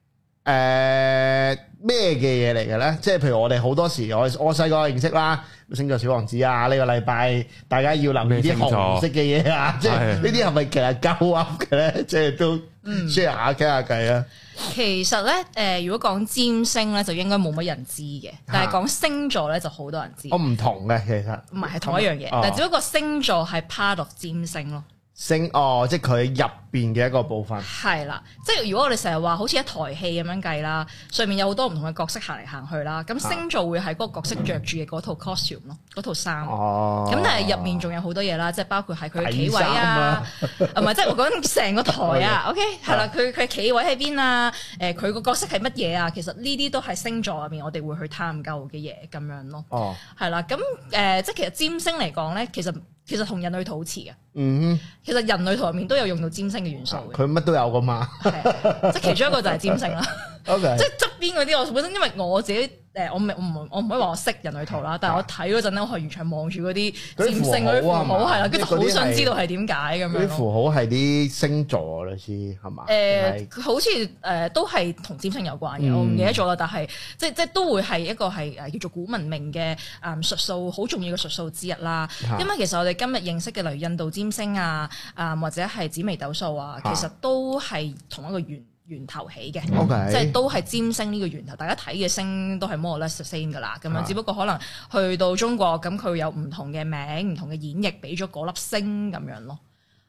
咩嘅嘢嚟嘅咧？即係譬如我哋好多時，我細個認識啦。星座小王子啊！呢個禮拜大家要留意啲紅色嘅嘢啊！即係呢啲係咪其實鳩噏嘅咧？即係都 share 下傾下偈啊！ 其實咧，如果講占星咧，就應該冇乜人知嘅。但係講星座咧，就好多人知。 我唔同嘅，其實唔係同一樣嘢，但係只不過星座係 part of 占星咯。 即係佢入邊嘅一個部分。係啦，即係如果我哋成日話好似一台戲咁樣計啦，上面有好多唔同嘅角色行嚟行去啦，咁星座會係嗰個角色着住嘅嗰套 costume 咯，嗰套衫。咁但係入面仲有好多嘢啦，即係包括係佢嘅企位啊，唔係即係我講緊成個台啊。OK，係啦，佢企位喺邊啊？佢個角色係乜嘢啊？其實呢啲都係星座入面我哋會去探究嘅嘢咁樣咯。係啦，咁即係其實占星嚟講咧，其實同人類圖好似嘅。其實人類圖入面都有用到占星嘅元素嘅。 佢乜都有噶嘛。係， 即係其中一個就係占星啦。Okay. 即係側邊嗰啲，我本身因為我自己我唔可以話我識人類圖啦，但係我睇嗰陣咧，我係完全望住嗰啲占星嗰啲符號係啦，跟住好想知道係點解咁樣。 啲符號係啲星座類似係嘛？ 好似都係同占星有關嘅，我唔記得咗啦。但係即係都會係一個係叫做古文明嘅術數好重要嘅術數之一啦。因為其實我哋今日認識嘅例如印度占星啊，或者係紫微斗數啊，其實都係同一個源頭起嘅，即係都係占星呢個源頭。大家睇嘅星都係 more or less the same 噶啦，咁樣只不過可能去到中國咁佢有唔同嘅名、唔同嘅演繹，俾咗嗰粒星咁樣咯。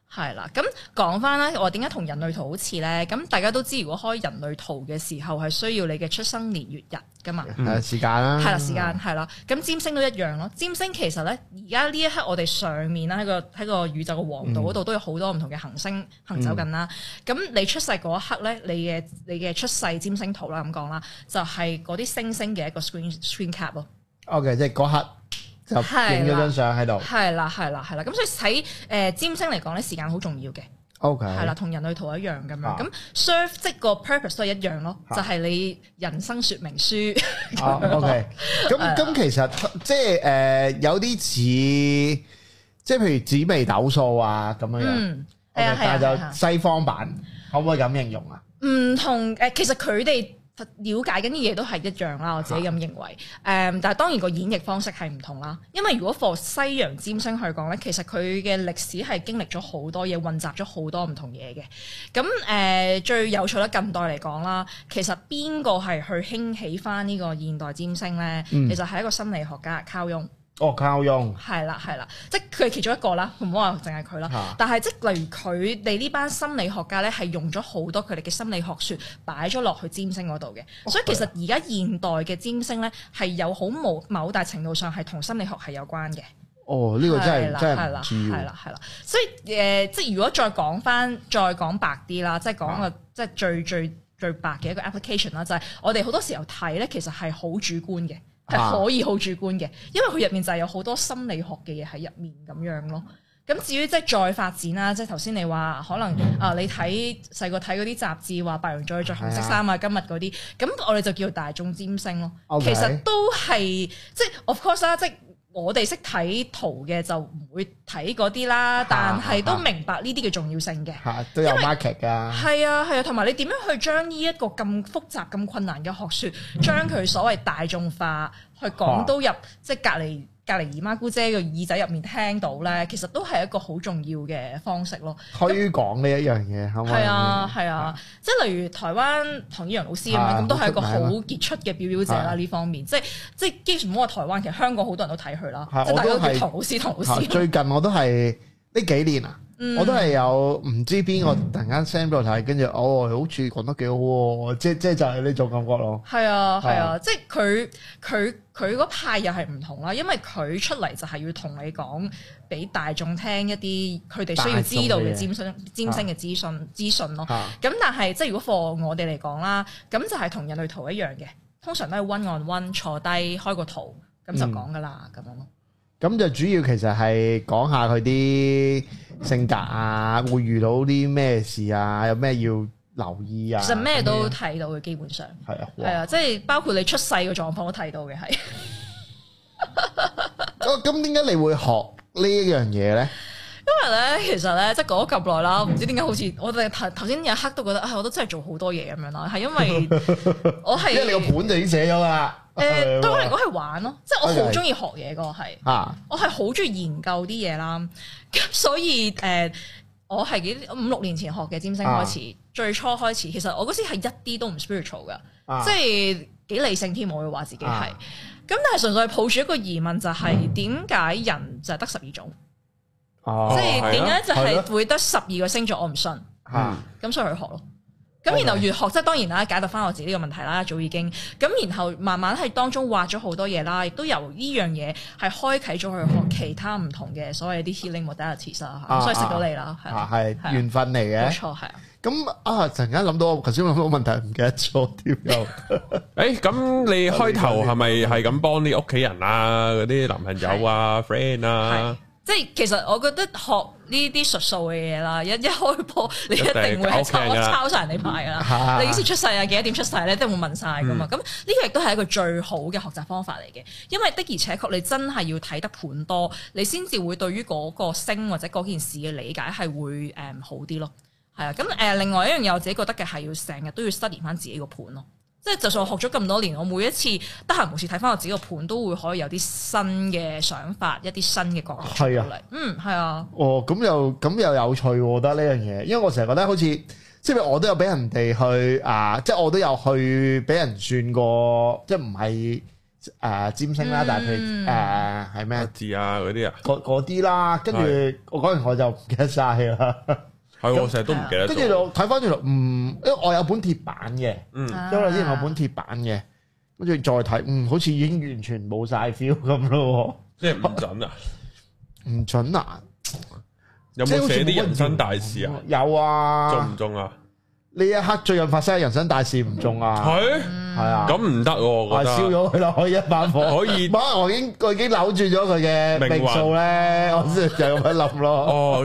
係啦，咁講翻啦，我點解同人類圖好似咧？咁大家都知，如果開人類圖嘅時候係需要你嘅出生年月日噶嘛， 時間啦， 係啦，時間係啦，咁占星都一樣咯。占星其實咧，而家呢一刻我哋上面啦，喺個宇宙嘅黃道嗰度都有好多唔同嘅行星行走緊啦。咁你出世嗰一刻咧，你嘅出世占星圖啦咁講啦，就係嗰啲星星嘅一個 screen cap 咯。 OK， 即係嗰刻。就影咗張相喺度， 係啦，咁所以喺占星嚟講咧，時間好重要嘅。 OK， 係啦，同人類圖一樣咁樣。咁 serve 即個 purpose 都係一樣咯，就係你人生說明書。 OK，咁其實即係有啲似，即係譬如紫微斗數啊咁樣樣。但係就西方版，可唔可以咁形容啊？唔同其實佢哋了解緊啲嘢都係一樣啦，我自己咁認為。但係當然個演繹方式係唔同啦。因為如果 for 西洋占星去講咧，其實佢嘅歷史係經歷咗好多嘢，混雜咗好多唔同嘢嘅。咁最有趣咧，近代嚟講啦，其實邊個係去興起翻呢個現代占星咧？其實係一個心理學家卡翁。 卡翁係啦，即係佢係其中一個啦，唔好話淨係佢啦。但係即係例如佢哋呢班心理學家咧，係用咗好多佢哋嘅心理學說擺咗落去占星嗰度嘅。所以其實而家現代嘅占星咧，係有好某大程度上係同心理學係有關嘅。 呢個真係唔知。 係啦。所以即係如果再講白啲啦，即係講個即係最白嘅一個 application 啦，就係我哋好多時候睇咧，其實係好主觀嘅。係可以好主觀嘅，因為佢入面就係有好多心理學嘅嘢喺入面咁樣咯。咁至於即係再發展啦，即係頭先你話可能你細個睇嗰啲雜誌話白羊座着紅色衫啊，今日嗰啲，咁我哋就叫大眾占星咯。其實都係即係 of course 啦，即係我哋識睇圖嘅就唔會睇嗰啲啦，但係都明白呢啲嘅重要性嘅。 都有 market 㗎。係啊，同埋你點樣去將呢一個咁複雜、咁困難嘅學説，將佢所謂大眾化，去講到入即係隔離姨媽姑姐個耳仔入面聽到咧，其實都係一個好重要嘅方式咯。 推廣呢一樣嘢， 係啊，即係例如台灣唐依陽老師咁樣，咁都係一個好傑出嘅表表者啦。呢方面，即係基本唔好話台灣，其實香港好多人都睇佢啦。即係大家都叫唐老師。 最近我都係呢幾年啊。我都係有唔知邊個突然間 send 俾我睇，跟住好似講得幾好喎，即係就係呢種感覺咯。 係啊，即係佢嗰派又係唔同啦，因為佢出嚟就係要同你講，俾大眾聽一啲佢哋需要知道嘅占星嘅資訊咯。咁但係即係如果 for 我哋嚟講啦，咁就係同人類圖一樣嘅，通常都係 one on one 坐低開個圖咁就講噶啦，咁樣咯。 咁就主要其實係講下佢啲性格啊，會遇到啲咩事啊，有咩要留意啊。 其實咩都睇到嘅，基本上係啊，即係包括你出世嘅狀況都睇到嘅，係。 咁點解你會學呢一樣嘢咧？ 因為咧，其實咧，即係講咗咁耐啦，唔知點解好似我哋頭先有一刻都覺得，我都真係做好多嘢咁樣啦，係因為我係因為你個本就已經寫咗啦。 對我嚟講係玩咯，即係我好中意學嘢個係，我係好中意研究啲嘢啦。咁所以我係5-6年前學嘅占星開始，最初開始，其實我嗰時係一啲都唔 spiritual 噶，即係幾理性添，我會話自己係。咁但係純粹係抱住一個疑問，就係點解人就係得12種？即係點解就係會得12個星座？我唔信。咁所以去學咯。咁然後越學，即係當然啦，解答翻我自己呢個問題啦，早已經。咁然後慢慢喺當中挖咗好多嘢啦，亦都由呢樣嘢係開啟咗去學其他唔同嘅所謂啲 healing modalities 啦。所以識到你啦， 係緣分嚟嘅。 冇錯，係啊。 咁突然間諗到，頭先諗到問題唔記得咗添又。 咁你開頭係咪係咁幫啲屋企人啊、嗰啲男朋友啊、friend 啊？ 即係其實我覺得學呢啲術數嘅嘢啦，一開波你一定會係抄晒人哋牌噶啦。你幾時出世啊？幾多點出世咧？都會問晒噶嘛。咁呢個亦都係一個最好嘅學習方法嚟嘅，因為的而且確你真係要睇得盤多，你先至會對於嗰個星或者嗰件事嘅理解係會好啲咯。係啊，咁另外一樣嘢我自己覺得嘅係要成日都要 study 翻自己個盤咯。即係就算我學咗咁多年，我每一次得閒無事睇翻我自己個盤，都會可以有啲新嘅想法，一啲新嘅角度出嚟。係啊。 咁又有趣喎，我覺得呢樣嘢，因為我成日覺得好似即係我都有俾人哋去即係我都有去俾人算過，即係唔係占星啦，但係佢係咩字啊嗰啲啊， 嗰啲啦，跟住我嗰陣我就唔記得晒啦。 係我成日都唔記得。 跟住我睇翻轉頭，因為我有本鐵版嘅，因為我之前有本鐵版嘅，跟住再睇，好似已經完全冇晒 feel 咁咯。即係唔準啊？唔準啊？ 有冇寫啲人生大事啊？ 有啊。中唔中啊？ 呢一刻最近發生嘅人生大事唔中啊？係啊。咁唔得喎，我覺得。燒咗佢啦，可以一把火。 可以。 我已經扭轉咗佢嘅命數咧，我先就咁樣諗咯。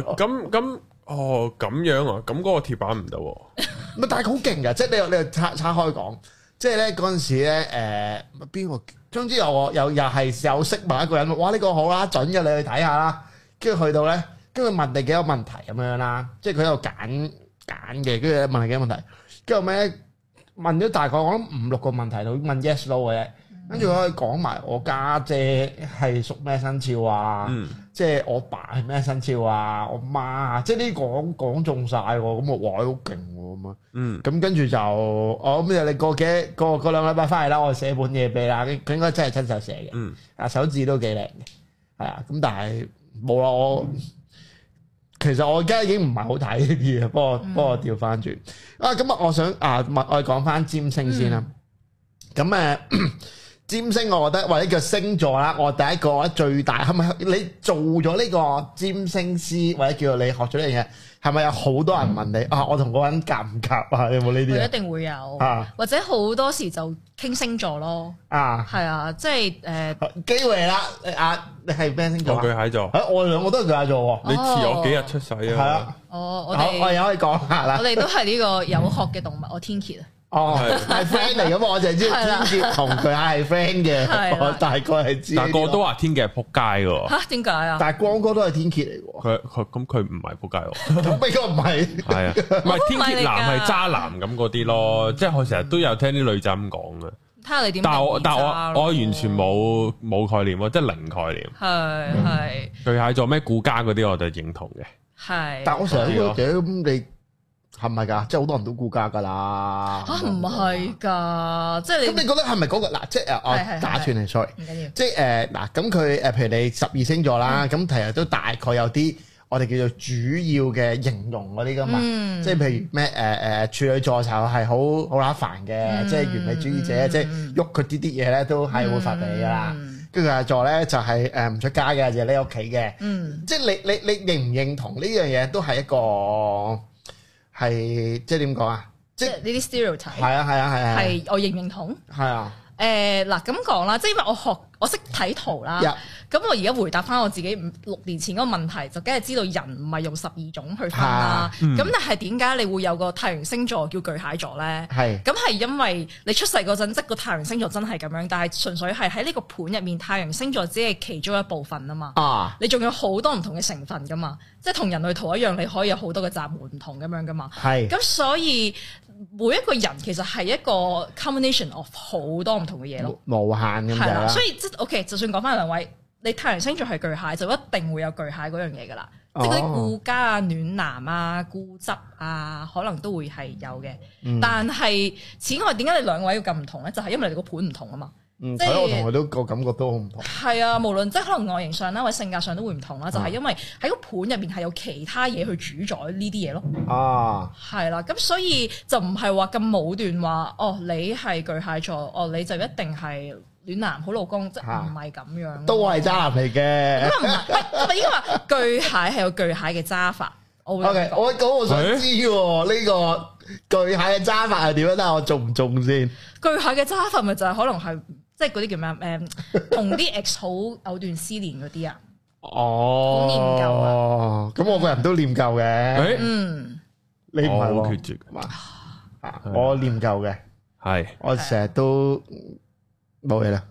咁樣啊？咁嗰個鐵板唔得喎。 咪但係好勁㗎，即係你拆開講，即係咧嗰陣時咧邊個？總之又係有識問一個人，哇呢個好啦，準嘅，你去睇下啦。跟住去到咧，跟住問你幾個問題咁樣啦，即係佢喺度揀嘅，跟住問你幾個問題，跟住後尾問咗大概我諗5-6個問題，就問 yes no 嘅啫。跟住可以講埋我家姐係屬咩生肖啊，即係我爸係咩生肖啊，我媽啊，即係呢講中晒喎，咁我哇好勁喎咁啊，咁跟住就我咁你過2禮拜翻嚟啦，我寫本嘢俾你啦，佢應該真係親手寫嘅，手字都幾靚嘅，係啊，咁但係冇啦，其實我而家已經唔係好睇呢啲嘢，幫我調翻轉啊，咁我想我講翻占星先啦，咁占星我覺得或者叫星座啦，我第一個最大係咪你做咗呢個占星師或者叫你學咗呢樣嘢，係咪有好多人問你我同嗰個人夾唔夾啊？有冇呢啲？ 一定會有，或者好多時就傾星座咯。係啊，即係機會啦。你係咩星座？ 我巨蟹座。 我哋兩個都係巨蟹座喎。 你遲我幾日出世啊？係啊。 我哋可以講下啦。 我哋都係呢個有殼嘅動物，我天蠍啊。 係 friend 嚟噶嘛？我淨係知天蠍同巨蟹係 friend 嘅，我大概係知。 但個都話天蠍係仆街噶。 吓？點解啊？ 但係光哥都係天蠍嚟喎。 佢唔係仆街喎。 咁呢個唔係。係啊， 唔係天蠍男係渣男咁嗰啲咯，即係我成日都有聽啲女仔咁講嘅。 睇下你點。 但我完全冇概念喎，即係零概念。 係。 巨蟹座咩顧家嗰啲我就認同嘅。 係。但我成日都咁你。係咪㗎？即係好多人都顧家㗎啦。 唔係㗎，即係你。咁你覺得係咪嗰個嗱？即係我打斷你 sorry。唔緊要。即係嗱，咁佢譬如你12星座啦，咁其實都大概有啲我哋叫做主要嘅形容嗰啲㗎嘛。即係譬如咩處女座就係好乸煩嘅，即係完美主義者，即係喐佢啲嘢咧都係會發脾氣㗎啦。跟住巨蟹座咧就係唔出街嘅，就係匿屋企嘅。即係你認唔認同呢樣嘢都係一個？係即係點講啊？即係呢啲 stereotype。 係啊。 係我認唔認同？ 係啊。 嗱咁講啦，即係因為我識睇圖啦。咁我而家回答翻我自己6年前嗰個問題，就梗係知道人唔係用12種去分啦。咁但係點解你會有個太陽星座叫巨蟹座咧？咁係因為你出世嗰陣，即個太陽星座真係咁樣，但係純粹係喺呢個盤入面，太陽星座只係其中一部分啊嘛。你仲有好多唔同嘅成分噶嘛，即係同人類圖一樣，你可以有好多嘅閘門唔同咁樣噶嘛。咁所以每一個人其實係一個 combination of 好多唔同嘅嘢咯， 無限咁樣啦。 所以即係 OK， 就算講翻兩位。你太陽星座係巨蟹，就一定會有巨蟹嗰樣嘢噶啦，即係嗰啲顧家啊、暖男啊、固執啊，可能都會係有嘅。但係此外，點解你兩位要咁唔同咧？就係因為你哋個盤唔同啊嘛。即係我同佢都個感覺都好唔同。係啊，無論即係可能外形上啦，或者性格上都會唔同啦。就係因為喺個盤入邊係有其他嘢去主宰呢啲嘢咯。係啦，咁所以就唔係話咁武斷話，你係巨蟹座，你就一定係暖男好老公，即係唔係咁樣， 都係渣男嚟嘅。 咁啊唔係應該話巨蟹係有巨蟹嘅揸法。 我想知喎，呢個巨蟹嘅揸法係點樣？但係我中唔中先？巨蟹嘅揸法咪就係可能係即係嗰啲叫咩？同啲 ex 好藕斷絲連嗰啲啊。好念舊啊！ 咁我個人都念舊嘅。你唔係喎？ 好決絕嘛？ 我念舊嘅， 係我成日都。冇嘢啦。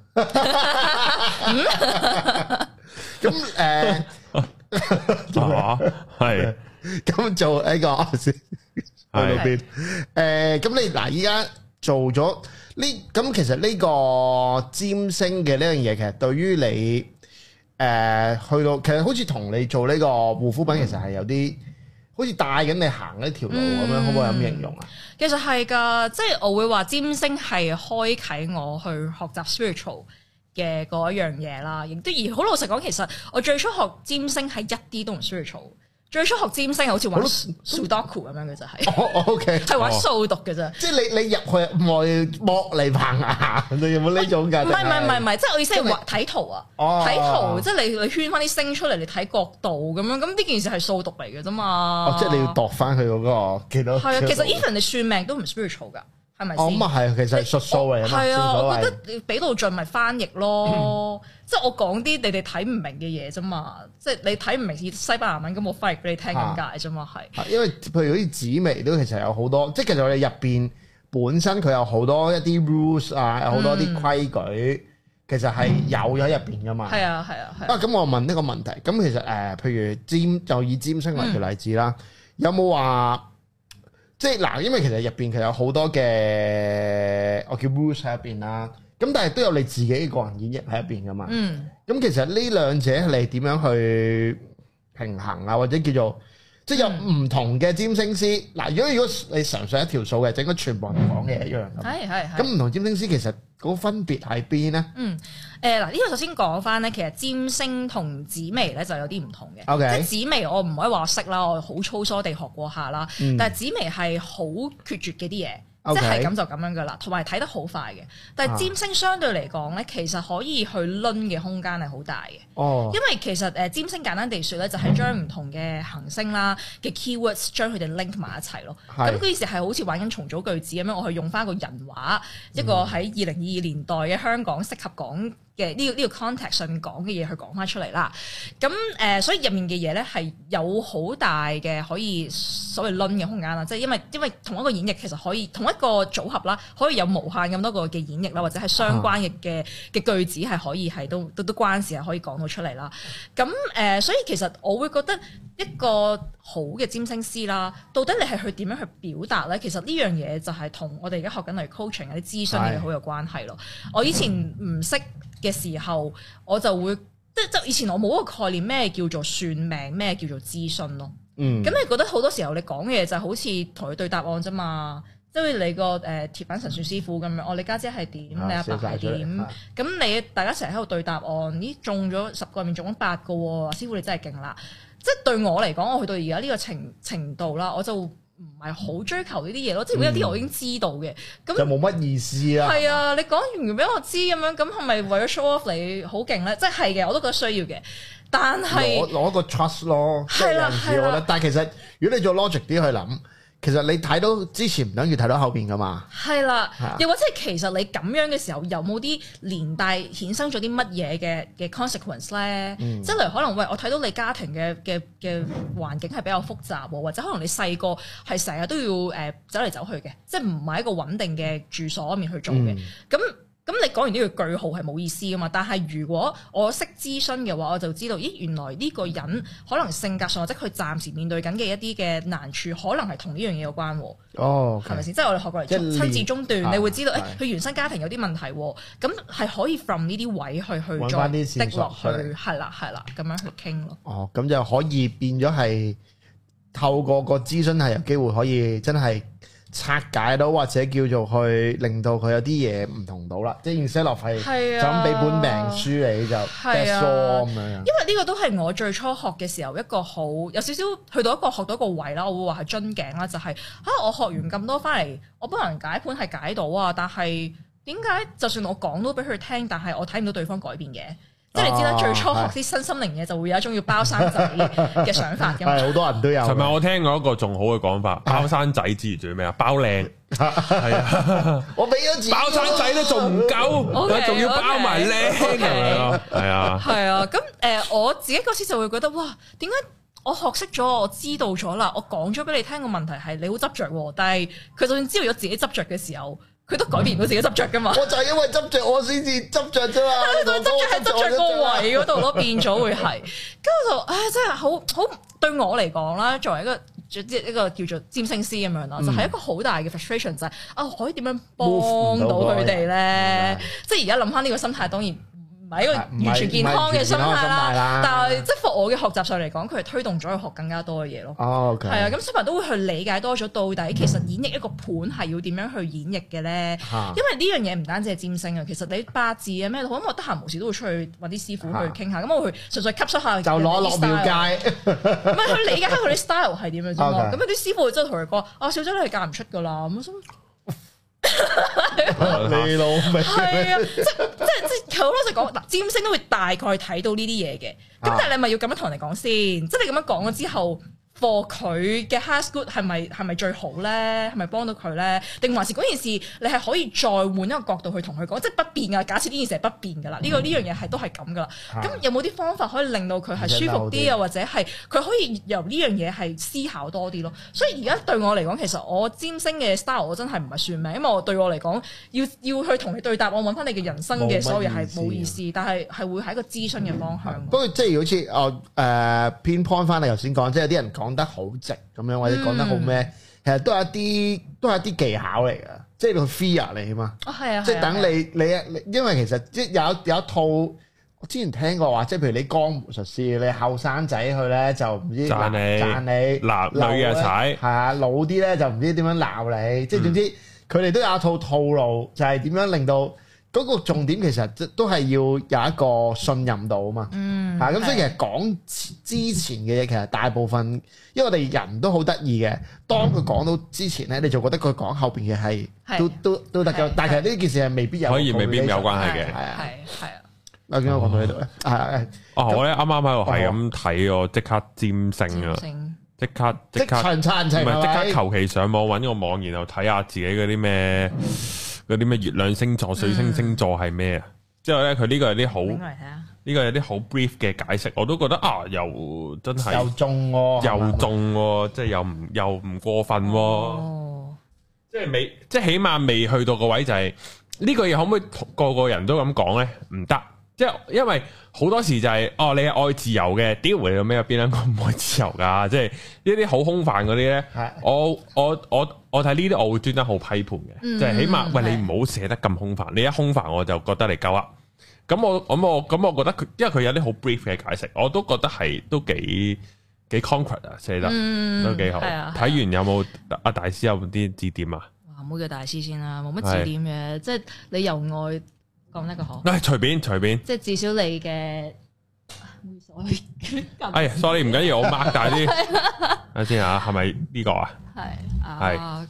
咁係咁做呢個先去到邊？咁你嗱依家做咗呢？咁其實呢個占星嘅呢樣嘢，其實對於你去到，其實好似同你做呢個護膚品，其實係有啲好似帶緊你行呢條路咁樣，可唔可以咁形容啊？ 其實係㗎，即係我會話占星係開啟我去學習 spiritual 嘅嗰一樣嘢啦。亦都而好老實講，其實我最初學占星係一啲都唔 spiritual。最初學占星係好似玩 Sudoku 咁樣嘅就係 ，OK 係玩數獨嘅啫。 即係你入去外剝嚟棚牙，你有冇呢種㗎？ 唔係，即係我意思係畫睇圖啊，睇圖即係你圈翻啲星出嚟，你睇角度咁樣，咁呢件事係數獨嚟嘅啫嘛。 即係你要度翻佢嗰個幾多？ 係啊，其實 even 你算命都唔 spiritual 㗎。係咪先？ 咁啊係，其實係術數嚟啊嘛。 係啊，我覺得你俾到盡咪翻譯咯。即係我講啲你哋睇唔明嘅嘢啫嘛。即係你睇唔明西班牙文，咁我翻譯俾你聽咁解啫嘛。係。因為譬如好似紫微都其實有好多，即係其實我哋入邊本身佢有好多一啲 rules 啊，有好多啲規矩，其實係有咗入邊噶嘛。 係啊。 咁我問呢個問題，咁其實譬如就以占星為條例子啦，有冇話？即係嗱，因為其實入邊其實有好多嘅我叫 rules 喺入邊啦，咁但係都有你自己嘅個人演繹喺入邊噶嘛。咁其實呢兩者你點樣去平衡啊？或者叫做即係有唔同嘅占星師嗱，如果你純粹一條數嘅，整個全部人講嘅一樣咁。係。咁唔同占星師其實嗰個分別喺邊咧？ 嗱，呢個首先講翻咧，其實占星同紫微咧就有啲唔同嘅。 Okay. 即係紫微我唔可以話我識啦，我好粗疏地學過下啦。但係紫微係好決絕嘅啲嘢。即係咁就咁樣噶啦，同埋睇得好快嘅。但係占星相對嚟講咧，其實可以去論嘅空間係好大嘅。因為其實占星簡單地說咧，就係將唔同嘅行星啦嘅 keywords 將佢哋 link 埋一齊咯。咁嗰件事係好似玩緊重組句子咁樣，我去用翻個人話，一個喺2022年代嘅香港適合講嘅呢個 context 上面講嘅嘢去講翻出嚟啦。咁所以入面嘅嘢咧係有好大嘅可以所謂論嘅空間啦。即係因為同一個演繹其實可以同一個組合啦，可以有無限咁多個嘅演繹啦，或者係相關嘅句子係可以係都關事係可以講到出嚟啦。咁所以其實我會覺得一個好嘅占星師啦，到底你係去點樣去表達咧？其實呢樣嘢就係同我哋而家學緊例如 coaching 有啲諮詢嘅嘢好有關係咯。我以前唔識嘅時候，我就會即以前我冇一個概念咩叫做算命，咩叫做諮詢咯。咁你覺得好多時候你講嘅嘢就好似同佢對答案啫嘛。即係你個鐵板神算師傅咁樣，你家姐係點，你阿爸係點，咁你大家成日喺度對答案，咦中咗10個入面中咗8個喎，師傅你真係勁啦！即係對我嚟講，我去到而家呢個程度啦，我就唔係好追求呢啲嘢咯。即係如果有啲我已經知道嘅，咁就冇乜意思啊。 係啊，你講完俾我知咁樣，咁係咪為咗 show off 你好勁咧？即係嘅，我都覺得需要嘅。但係攞個 trust 咯， 係啦。 但係其實如果你做 logic 啲去諗。其實你睇到之前唔等於睇到後邊噶嘛？係啦， 又或者係其實你咁樣嘅時候，有冇啲連帶衍生咗啲乜嘢嘅 consequence 咧？即係例如可能我睇到你家庭嘅環境係比較複雜，或者可能你細個係成日都要走嚟走去嘅，即係唔係一個穩定嘅住所面去做嘅。咁你講完呢個句號係冇意思噶嘛？但係如果我識諮詢嘅話，我就知道，咦，原來呢個人可能性格上或者佢暫時面對緊嘅一啲嘅難處，可能係同呢樣嘢有關喎。係咪先？即係我哋學過嚟親子中斷，你會知道，佢原生家庭有啲問題，咁係可以 from 呢啲位去再滴落去，係啦，咁樣去傾咯。 咁就可以變咗係透過個諮詢係有機會可以真係拆解到，或者叫做去令到佢有啲嘢唔同到啦，即係 instead of 係就咁俾本命書你就 that's all 咁樣。因為呢個都係我最初學嘅時候一個好有少少去到一個學到一個位啦，我會話係樽頸啦，就係我學完咁多翻嚟，我幫人解盤係解到啊，但係點解就算我講到俾佢聽，但係我睇唔到對方改變嘅？即係你知啦，最初學啲新心靈嘢就會有一種要包生仔嘅想法嘅。 係好多人都有。 尋日我聽過一個仲好嘅講法，包生仔之餘仲要咩啊？包靚係啊！ 我俾咗錢， 包生仔都仲唔夠，仲要包埋靚咁樣咯。係啊， 係啊。咁我自己嗰時就會覺得哇，點解我學識咗，我知道咗啦，我講咗俾你聽個問題係你好執着，但係佢就算知道咗自己執着嘅時候，佢都改變唔到自己執着噶嘛？ 我就係因為執着，我先至執着啫嘛。 執着喺執着個位嗰度咯，變咗會係。跟住我就真係好對我嚟講啦，作為一個叫做占星師咁樣啦，就係一個好大嘅 frustration 就係可以點樣幫到佢哋咧？即係而家諗翻呢個心態，當然唔係一個完全健康嘅心態啦。但係即係我嘅學習上嚟講，佢係推動咗佢學更加多嘅嘢咯。 哦，OK。 係啊，咁小朋友都會去理解多咗，到底其實演繹一個盤係要點樣去演繹嘅咧？因為呢樣嘢唔單止係占星啊，其實你八字啊咩，咁我得閒無事都會出去揾啲師傅去傾下，咁我會純粹吸收下就攞落廟街， 唔係去理解下佢啲 style 係點樣啫嘛。咁有啲師傅真係同佢講：啊，小姐你係嫁唔出㗎啦。咁你老味係啊，即係好老實講，嗱，占星都會大概睇到呢啲嘢嘅。咁但係你咪要咁樣同人哋講先，即係你咁樣講咗之後。for 佢嘅 highest good 係咪最好咧？係咪幫到佢咧？定還是嗰件事你係可以再換一個角度去同佢講，即係不變噶。假設呢件事係不變㗎啦，呢樣嘢係都係咁㗎啦。咁有冇啲方法可以令到佢係舒服啲，又或者係佢可以由呢樣嘢係思考多啲咯？所以而家對我嚟講，其實我占星嘅 style 我真係唔係算命，因為對我嚟講要去同你對答，我揾翻你嘅人生嘅所有嘢係冇意思，但係會係一個諮詢嘅方向。 不過即係好似我偏 point 翻你頭先講，即係有啲人講得好直咁樣，或者講得好咩，其實都係一啲技巧嚟㗎，即係個 fear 嚟啊嘛。係啊，即係等你，因為其實即係有一套，我之前聽過話，即係譬如你江湖術士，你後生仔去咧就唔知讚你，鬧女嘅踩，係啊，老啲咧就唔知點樣鬧你，即係總之佢哋都有一套套路，就係點樣令到。嗰個重點其實都係要有一個信任度啊嘛，咁所以其實講之前嘅嘢，其實大部分，因為我哋人都好得意嘅，當佢講到之前咧，你就覺得佢講後邊嘅係都得嘅，但係其實呢件事係未必有， 可以未必有關係嘅， 係啊。 啊，點解講到呢度咧？ 我咧啱啱喺度係咁睇，我即刻占星啊，即刻唔係即刻求其上網揾個網，然後睇下自己嗰啲咩。嗰啲咩月亮星座、水星星座係咩啊？之後咧，佢呢個有啲好，呢個有啲好 brief 嘅解釋，我都覺得又真係又中喎， 即係又唔過分喎，即係起碼未去到個位就係呢個嘢可唔可以個個人都咁講咧？唔得，即係因為好多時就係你係愛自由嘅，屌你有咩有邊兩個唔愛自由㗎？即係呢啲好空泛嗰啲咧，我睇呢啲我會專登好批判嘅，即係起碼喂你唔好寫得咁空泛，你一空泛我就覺得你夠噏。咁我覺得佢，因為佢有啲好 brief 嘅解釋，我都覺得係都幾 concrete 啊，寫得都幾好。睇完有冇阿大師有啲指點啊？ 哇，唔好叫大師先啦，冇乜指點嘅，即係你由外講得個好。 隨便， 即係至少你嘅。 sorry 唔緊要，我擘大啲，睇先吓，係咪呢個啊？ 係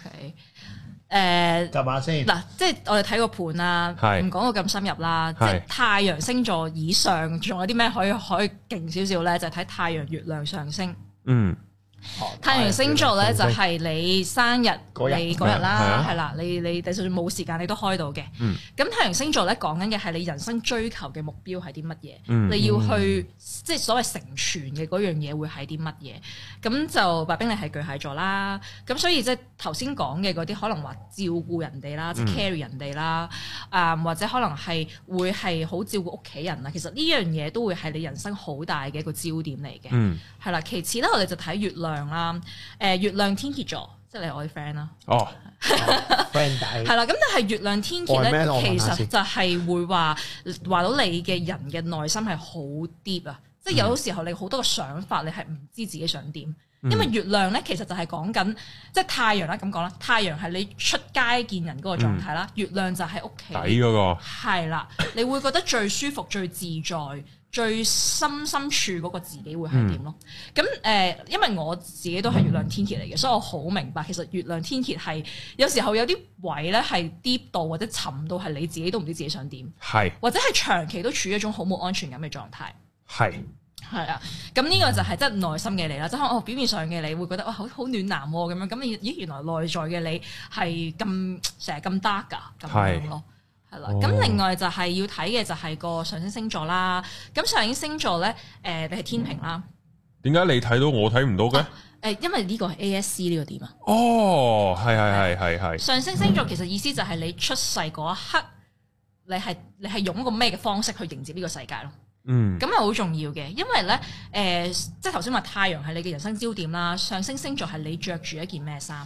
，OK， 就下先。 嗱，即係我哋睇個盤啦，唔講到咁深入啦。即係太陽星座以上，仲有啲咩可以勁少少咧？就係睇太陽、月亮、上升。太陽星座咧就係你生日你嗰日啦，係啦，你就算冇時間你都開到嘅。咁太陽星座咧講緊嘅係你人生追求嘅目標係啲乜嘢？你要去即係所謂成全嘅嗰樣嘢會係啲乜嘢？咁就白兵你係巨蟹座啦，咁所以即係頭先講嘅嗰啲可能話照顧人哋啦，即係 carry 人哋啦，或者可能係會係好照顧屋企人啦。其實呢樣嘢都會係你人生好大嘅一個焦點嚟嘅。係啦，其次咧我哋就睇月亮啦，月亮天蠍座，即係你係我啲 friend 啦。 friend 係啦，咁但係月亮天蠍咧，其實就係會話到你嘅人嘅內心係好 deep 啊，即係有時候你好多嘅想法，你係唔知自己想點，因為月亮咧其實就係講緊即係太陽啦，咁講啦，太陽係你出街見人嗰個狀態啦，月亮就係屋企底嗰個，係啦，你會覺得最舒服、最自在。最深處嗰個自己會係點咯？咁因為我自己都係月亮天蠍嚟嘅，所以我好明白其實月亮天蠍係有時候有啲位咧係 deep 到或者沉到係你自己都唔知自己想點，係或者係長期都處於一種好冇安全感嘅狀態，係啊。咁呢個就係即係內心嘅你啦，即係可能表面上嘅你會覺得哇好暖男咁樣，咁咦原來內在嘅你係咁成日咁 dark 㗎咁樣咯。係啦，咁另外就係要睇嘅就係個上升星座啦。咁上升星座咧，你係天秤啦。 點解你睇到我睇唔到嘅？ 因為呢個係 ASC 呢個點啊。 係。 上升星座其實意思就係你出世嗰一刻，你係用一個咩嘅方式去迎接呢個世界咯。咁係好重要嘅，因為咧，即係頭先話太陽係你嘅人生焦點啦，上升星座係你着住一件咩衫。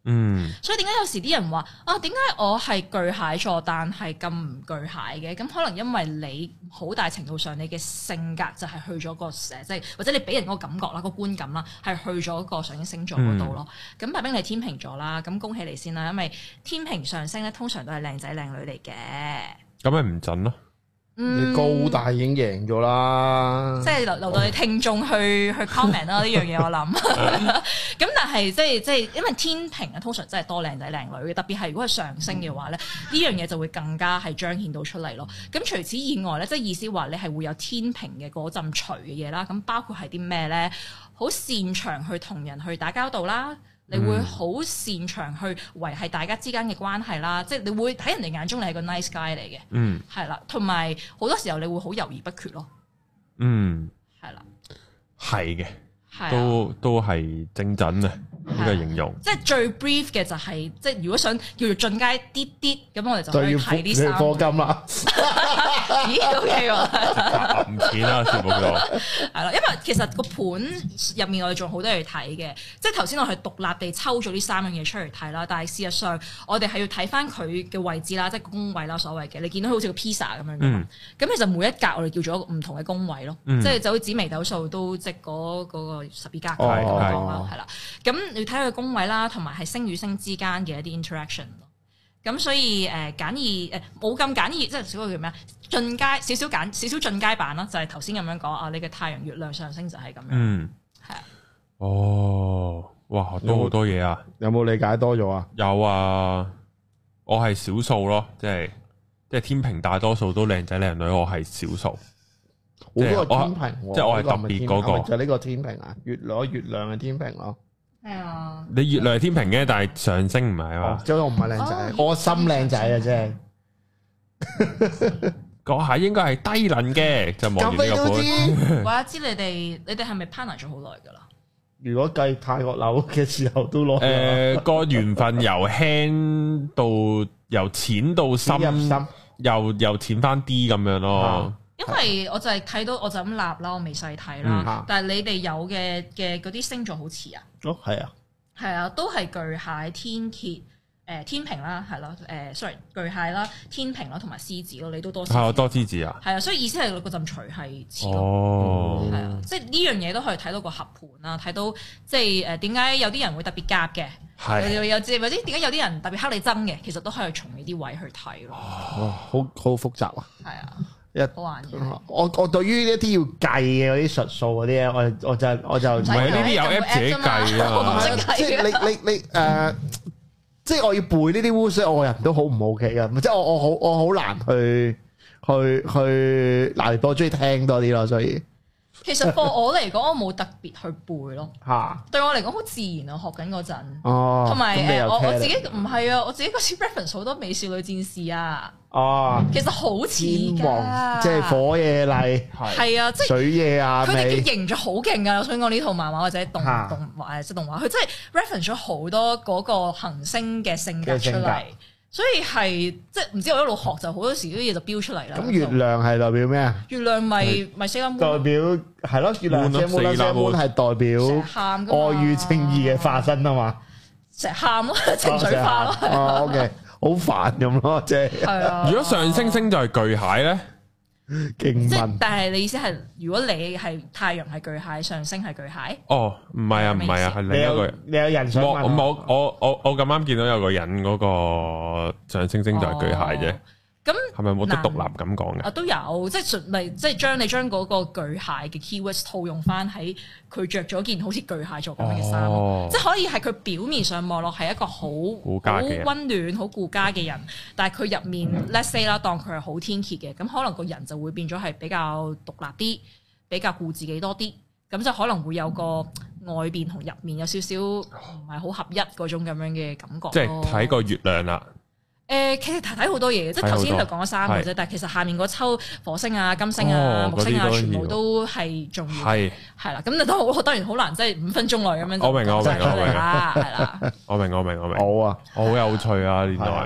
所以點解有時啲人話啊，點解我係巨蟹座但係咁唔巨蟹嘅？咁可能因為你好大程度上你嘅性格就係去咗個即係或者你俾人嗰個感覺啦、個觀感啦，係去咗個上升星座嗰度咯。咁白兵你天秤座啦，咁恭喜你先啦，因為天秤上升咧通常都係靚仔靚女嚟嘅。 咁咪唔準咯？ 你高大已經贏咗啦， 即係留到你聽眾去 comment 啦呢樣嘢我諗。咁但係即係因為天秤啊，通常真係多靚仔靚女嘅，特別係如果係上升嘅話咧，呢樣嘢就會更加係彰顯到出嚟咯。咁除此以外咧，即係意思話你係會有天秤嘅嗰陣除嘅嘢啦。咁包括係啲咩咧？好擅長去同人去打交道啦。你會好擅長去維繫大家之間嘅關係啦，即係你會喺人哋眼中你係個 nice guy 嚟嘅，係啦，同埋好多時候你會好猶豫不決咯，係啦，係嘅，都係正準啊呢個形容，即係最 brief 嘅就係即係如果想叫做進階啲啲，咁我哋就可以睇啲三課金啦，咦 OK 喎， 揞錢啦節目度， 係啦，因為其實個盤入面我哋仲好多嘢睇嘅，即係頭先我係獨立地抽咗呢三樣嘢出嚟睇啦，但係事實上我哋係要睇翻佢嘅位置啦，即係宮位啦，所謂嘅，你見到好似個 pizza 咁樣嘅嘛，咁其實每一格我哋叫做一個唔同嘅宮位咯，即係就好似紫微斗數都即係嗰個12格咁樣講啦，係啦，咁。你睇佢宮位啦，同埋係星與星之間嘅一啲 interaction 咯。咁所以簡易冇咁簡易，即係少個叫咩啊？進階少少進階版啦，就係頭先咁樣講啊。你嘅太陽、月亮、上升就係咁樣。係啊。 哦，哇，學到好多嘢啊！ 有冇理解多咗啊？ 有啊，我係少數咯，即係天秤大多數都靚仔靚女，我係少數。 我嗰個天秤， 即係我係特別嗰個， 就呢個天秤啊，月亮嘅天秤咯。 係啊， 你月亮係天秤嘅，但係上升唔係嘛？ 即係我唔係靚仔，我心靚仔啊，真係。 嗰下應該係低能嘅，就望住呢個盤。 我知你哋係咪 partner 咗好耐噶啦？ 如果計泰國樓嘅時候都攞。 個緣分由輕到由淺到深，又淺翻啲咁樣咯。因為我就係睇到，我就咁立啦，我未細睇啦。但係你哋有嘅嗰啲星座好似啊？ 哦，係啊， 係啊，都係巨蟹、天蠍、天秤啦，係咯，sorry， 巨蟹啦、天秤啦，同埋獅子咯，你都多獅子。係多獅子啊？ 係啊，所以意思係嗰陣除係似咯。 哦， 係啊，即係呢樣嘢都可以睇到個合盤啦，睇到即係點解有啲人會特別夾嘅，又或者點解有啲人特別黑你憎嘅，其實都可以從呢啲位去睇咯。 好複雜啊！係啊。 好玩嘅， 我對於一啲要計嘅嗰啲術數嗰啲咧，我就唔係呢啲有 app 自己計啊！ 即係你即係我要背呢啲烏水，我個人都好唔 OK 嘅，即係我好難去嗱，我中意聽多啲咯，所以。 其實對我嚟講，我冇特別去背咯。 嚇！ 對我嚟講好自然啊，學緊嗰陣。 哦。 同埋我自己唔係啊，我自己嗰時 reference 好多美少女戰士啊。 哦。 其實好似㗎。 即係火野麗。 係啊，即係。 水野啊。 佢哋嘅形象好勁㗎，我想講呢套漫畫或者動畫即係動畫，佢真係 reference 咗好多嗰個行星嘅性格出嚟。所以係即係唔知我一路學就好多時啲嘢就標出嚟啦。咁月亮係代表咩啊？ 月亮咪 Sailor Moon 代表係咯，月亮 Sailor Moon 係代表愛與正義嘅化身啊嘛。成日喊咯，情緒化咯。哦，OK，好煩咁咯，即係。係啊。如果上升星就係巨蟹咧？ 即係， 但係你意思係，如果你係太陽係巨蟹，上升係巨蟹？ 哦，唔係啊，係另一個人。 你有人想問？ 我咁啱見到有個人嗰個上升星就係巨蟹啫。咁係咪冇得獨立咁講嘅？ 啊，都有，即係將嗰個巨蟹嘅 keywords 套用翻喺佢着咗件好似巨蟹座咁樣嘅衫，即係可以係佢表面上望落係一個好溫暖、好顧家嘅人，但係佢入面 let's say 啦，當佢係好天蠍嘅，咁可能個人就會變咗係比較獨立啲，比較顧自己多啲，咁就可能會有個外邊同入面有少少唔係好合一嗰種咁樣嘅感覺。 即係睇個月亮啦。 其實睇好多嘢嘅，即係頭先就講咗3個啫，但係其實下面嗰抽火星啊、金星啊、木星啊，全部都係重要嘅，係啦。咁都好，當然好難，即係5分鐘內咁樣。 我明啦，係啦。 我明。 好啊，好有趣啊！原來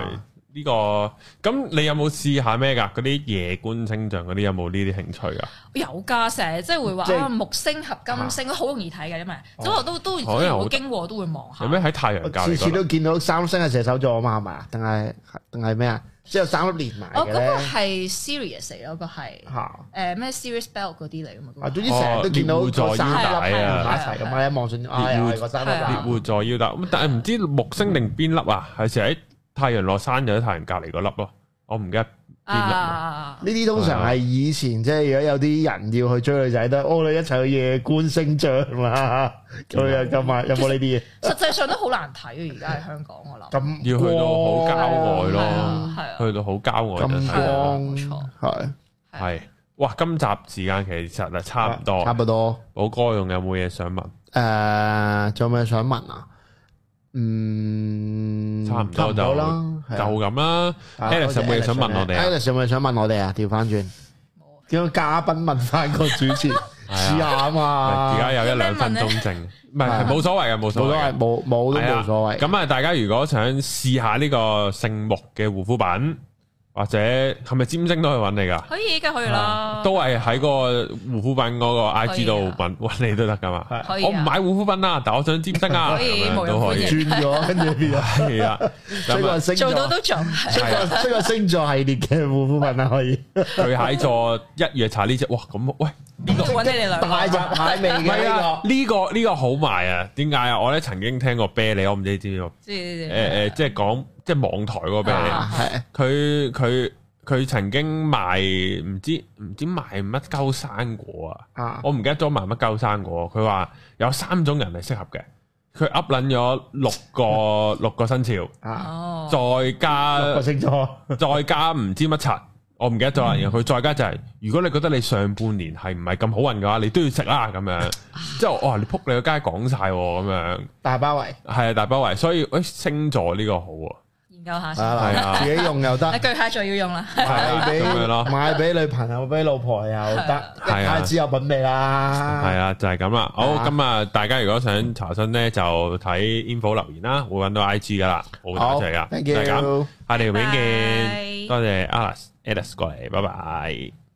呢個咁你有冇試下咩㗎？嗰啲夜觀星象嗰啲有冇呢啲興趣㗎？ 有㗎，成日即係會話木星合金星，好容易睇嘅，因為即係都會經過都會望下。 有咩喺太陽隔離？ 次次都見到三星係射手座啊嘛，係咪？定係咩啊？之後3粒連埋嘅咧。嗰個係 Sirius 嚟，嗰個係咩 Sirius Belt 嗰啲嚟㗎嘛。總之成日都見到個3粒連埋一齊咁啊！望上又係個3粒。 獵戶座腰帶咁，但係唔知木星定邊粒啊？係成日喺太陽落山就喺太陽隔離嗰粒咯，我唔記得邊粒。呢啲通常係以前即係如果有啲人要去追女仔，都你一齊去夜觀星象啦。咁啊，有冇呢啲嘢？ 實際上都好難睇啊！而家喺香港我諗。 咁要去到好郊外咯， 係啊， 去到好郊外就睇啦。冇錯，係。哇！今集時間其實係差唔多。 差唔多。 寶哥仲有冇嘢想問？ 仲有咩想問啊？ 差唔多就咁啦。Alex 有冇嘢想問我哋啊 ？Alex 有冇嘢想問我哋啊？調翻轉，叫嘉賓問翻個主持試下啊嘛。 而家有1-2分鐘剩，唔係冇所謂嘅，冇所謂， 冇都冇所謂。 咁啊，大家如果想試下呢個聖木嘅護膚品，或者係咪占星都可以揾你噶？ 可以噶，可以啦。 都係喺個護膚品嗰個 IG 度揾你都得噶嘛。我唔買護膚品啦，但我想占星啊，都可以轉咗，跟住變咗係啊。 做到都做， 出個星座系列嘅護膚品啊，可以。 巨蟹座1月搽呢隻，哇咁喂， 呢個揾你哋兩個大閘蟹味嘅呢個好賣啊？點解啊？我咧曾經聽過啤梨，我唔知你知唔知？即係講。即係網台嗰邊，佢曾經賣唔知賣乜鳩生果啊！我唔記得咗賣乜鳩生果。佢話有3種人係適合嘅，佢噏撚咗六個生肖，再加 6個星座， 再加唔知乜柒，我唔記得咗啦。然後佢再加就係，如果你覺得你上半年係唔係咁好運嘅話，你都要食啦咁樣。之後哇，你撲你個街講晒咁樣， 大包圍係啊，大包圍。所以星座呢個好啊。 研究下先，自己用又得。 巨蟹座要用啦， 買俾女朋友、俾老婆又得，一太子有品味啦。 係啊，就係咁啦。好，咁啊，大家如果想查詢咧，就睇 info 留言啦，會揾到 IG 噶啦，好多謝噶，就係咁。下條片見，多謝 Alex 過嚟，拜拜。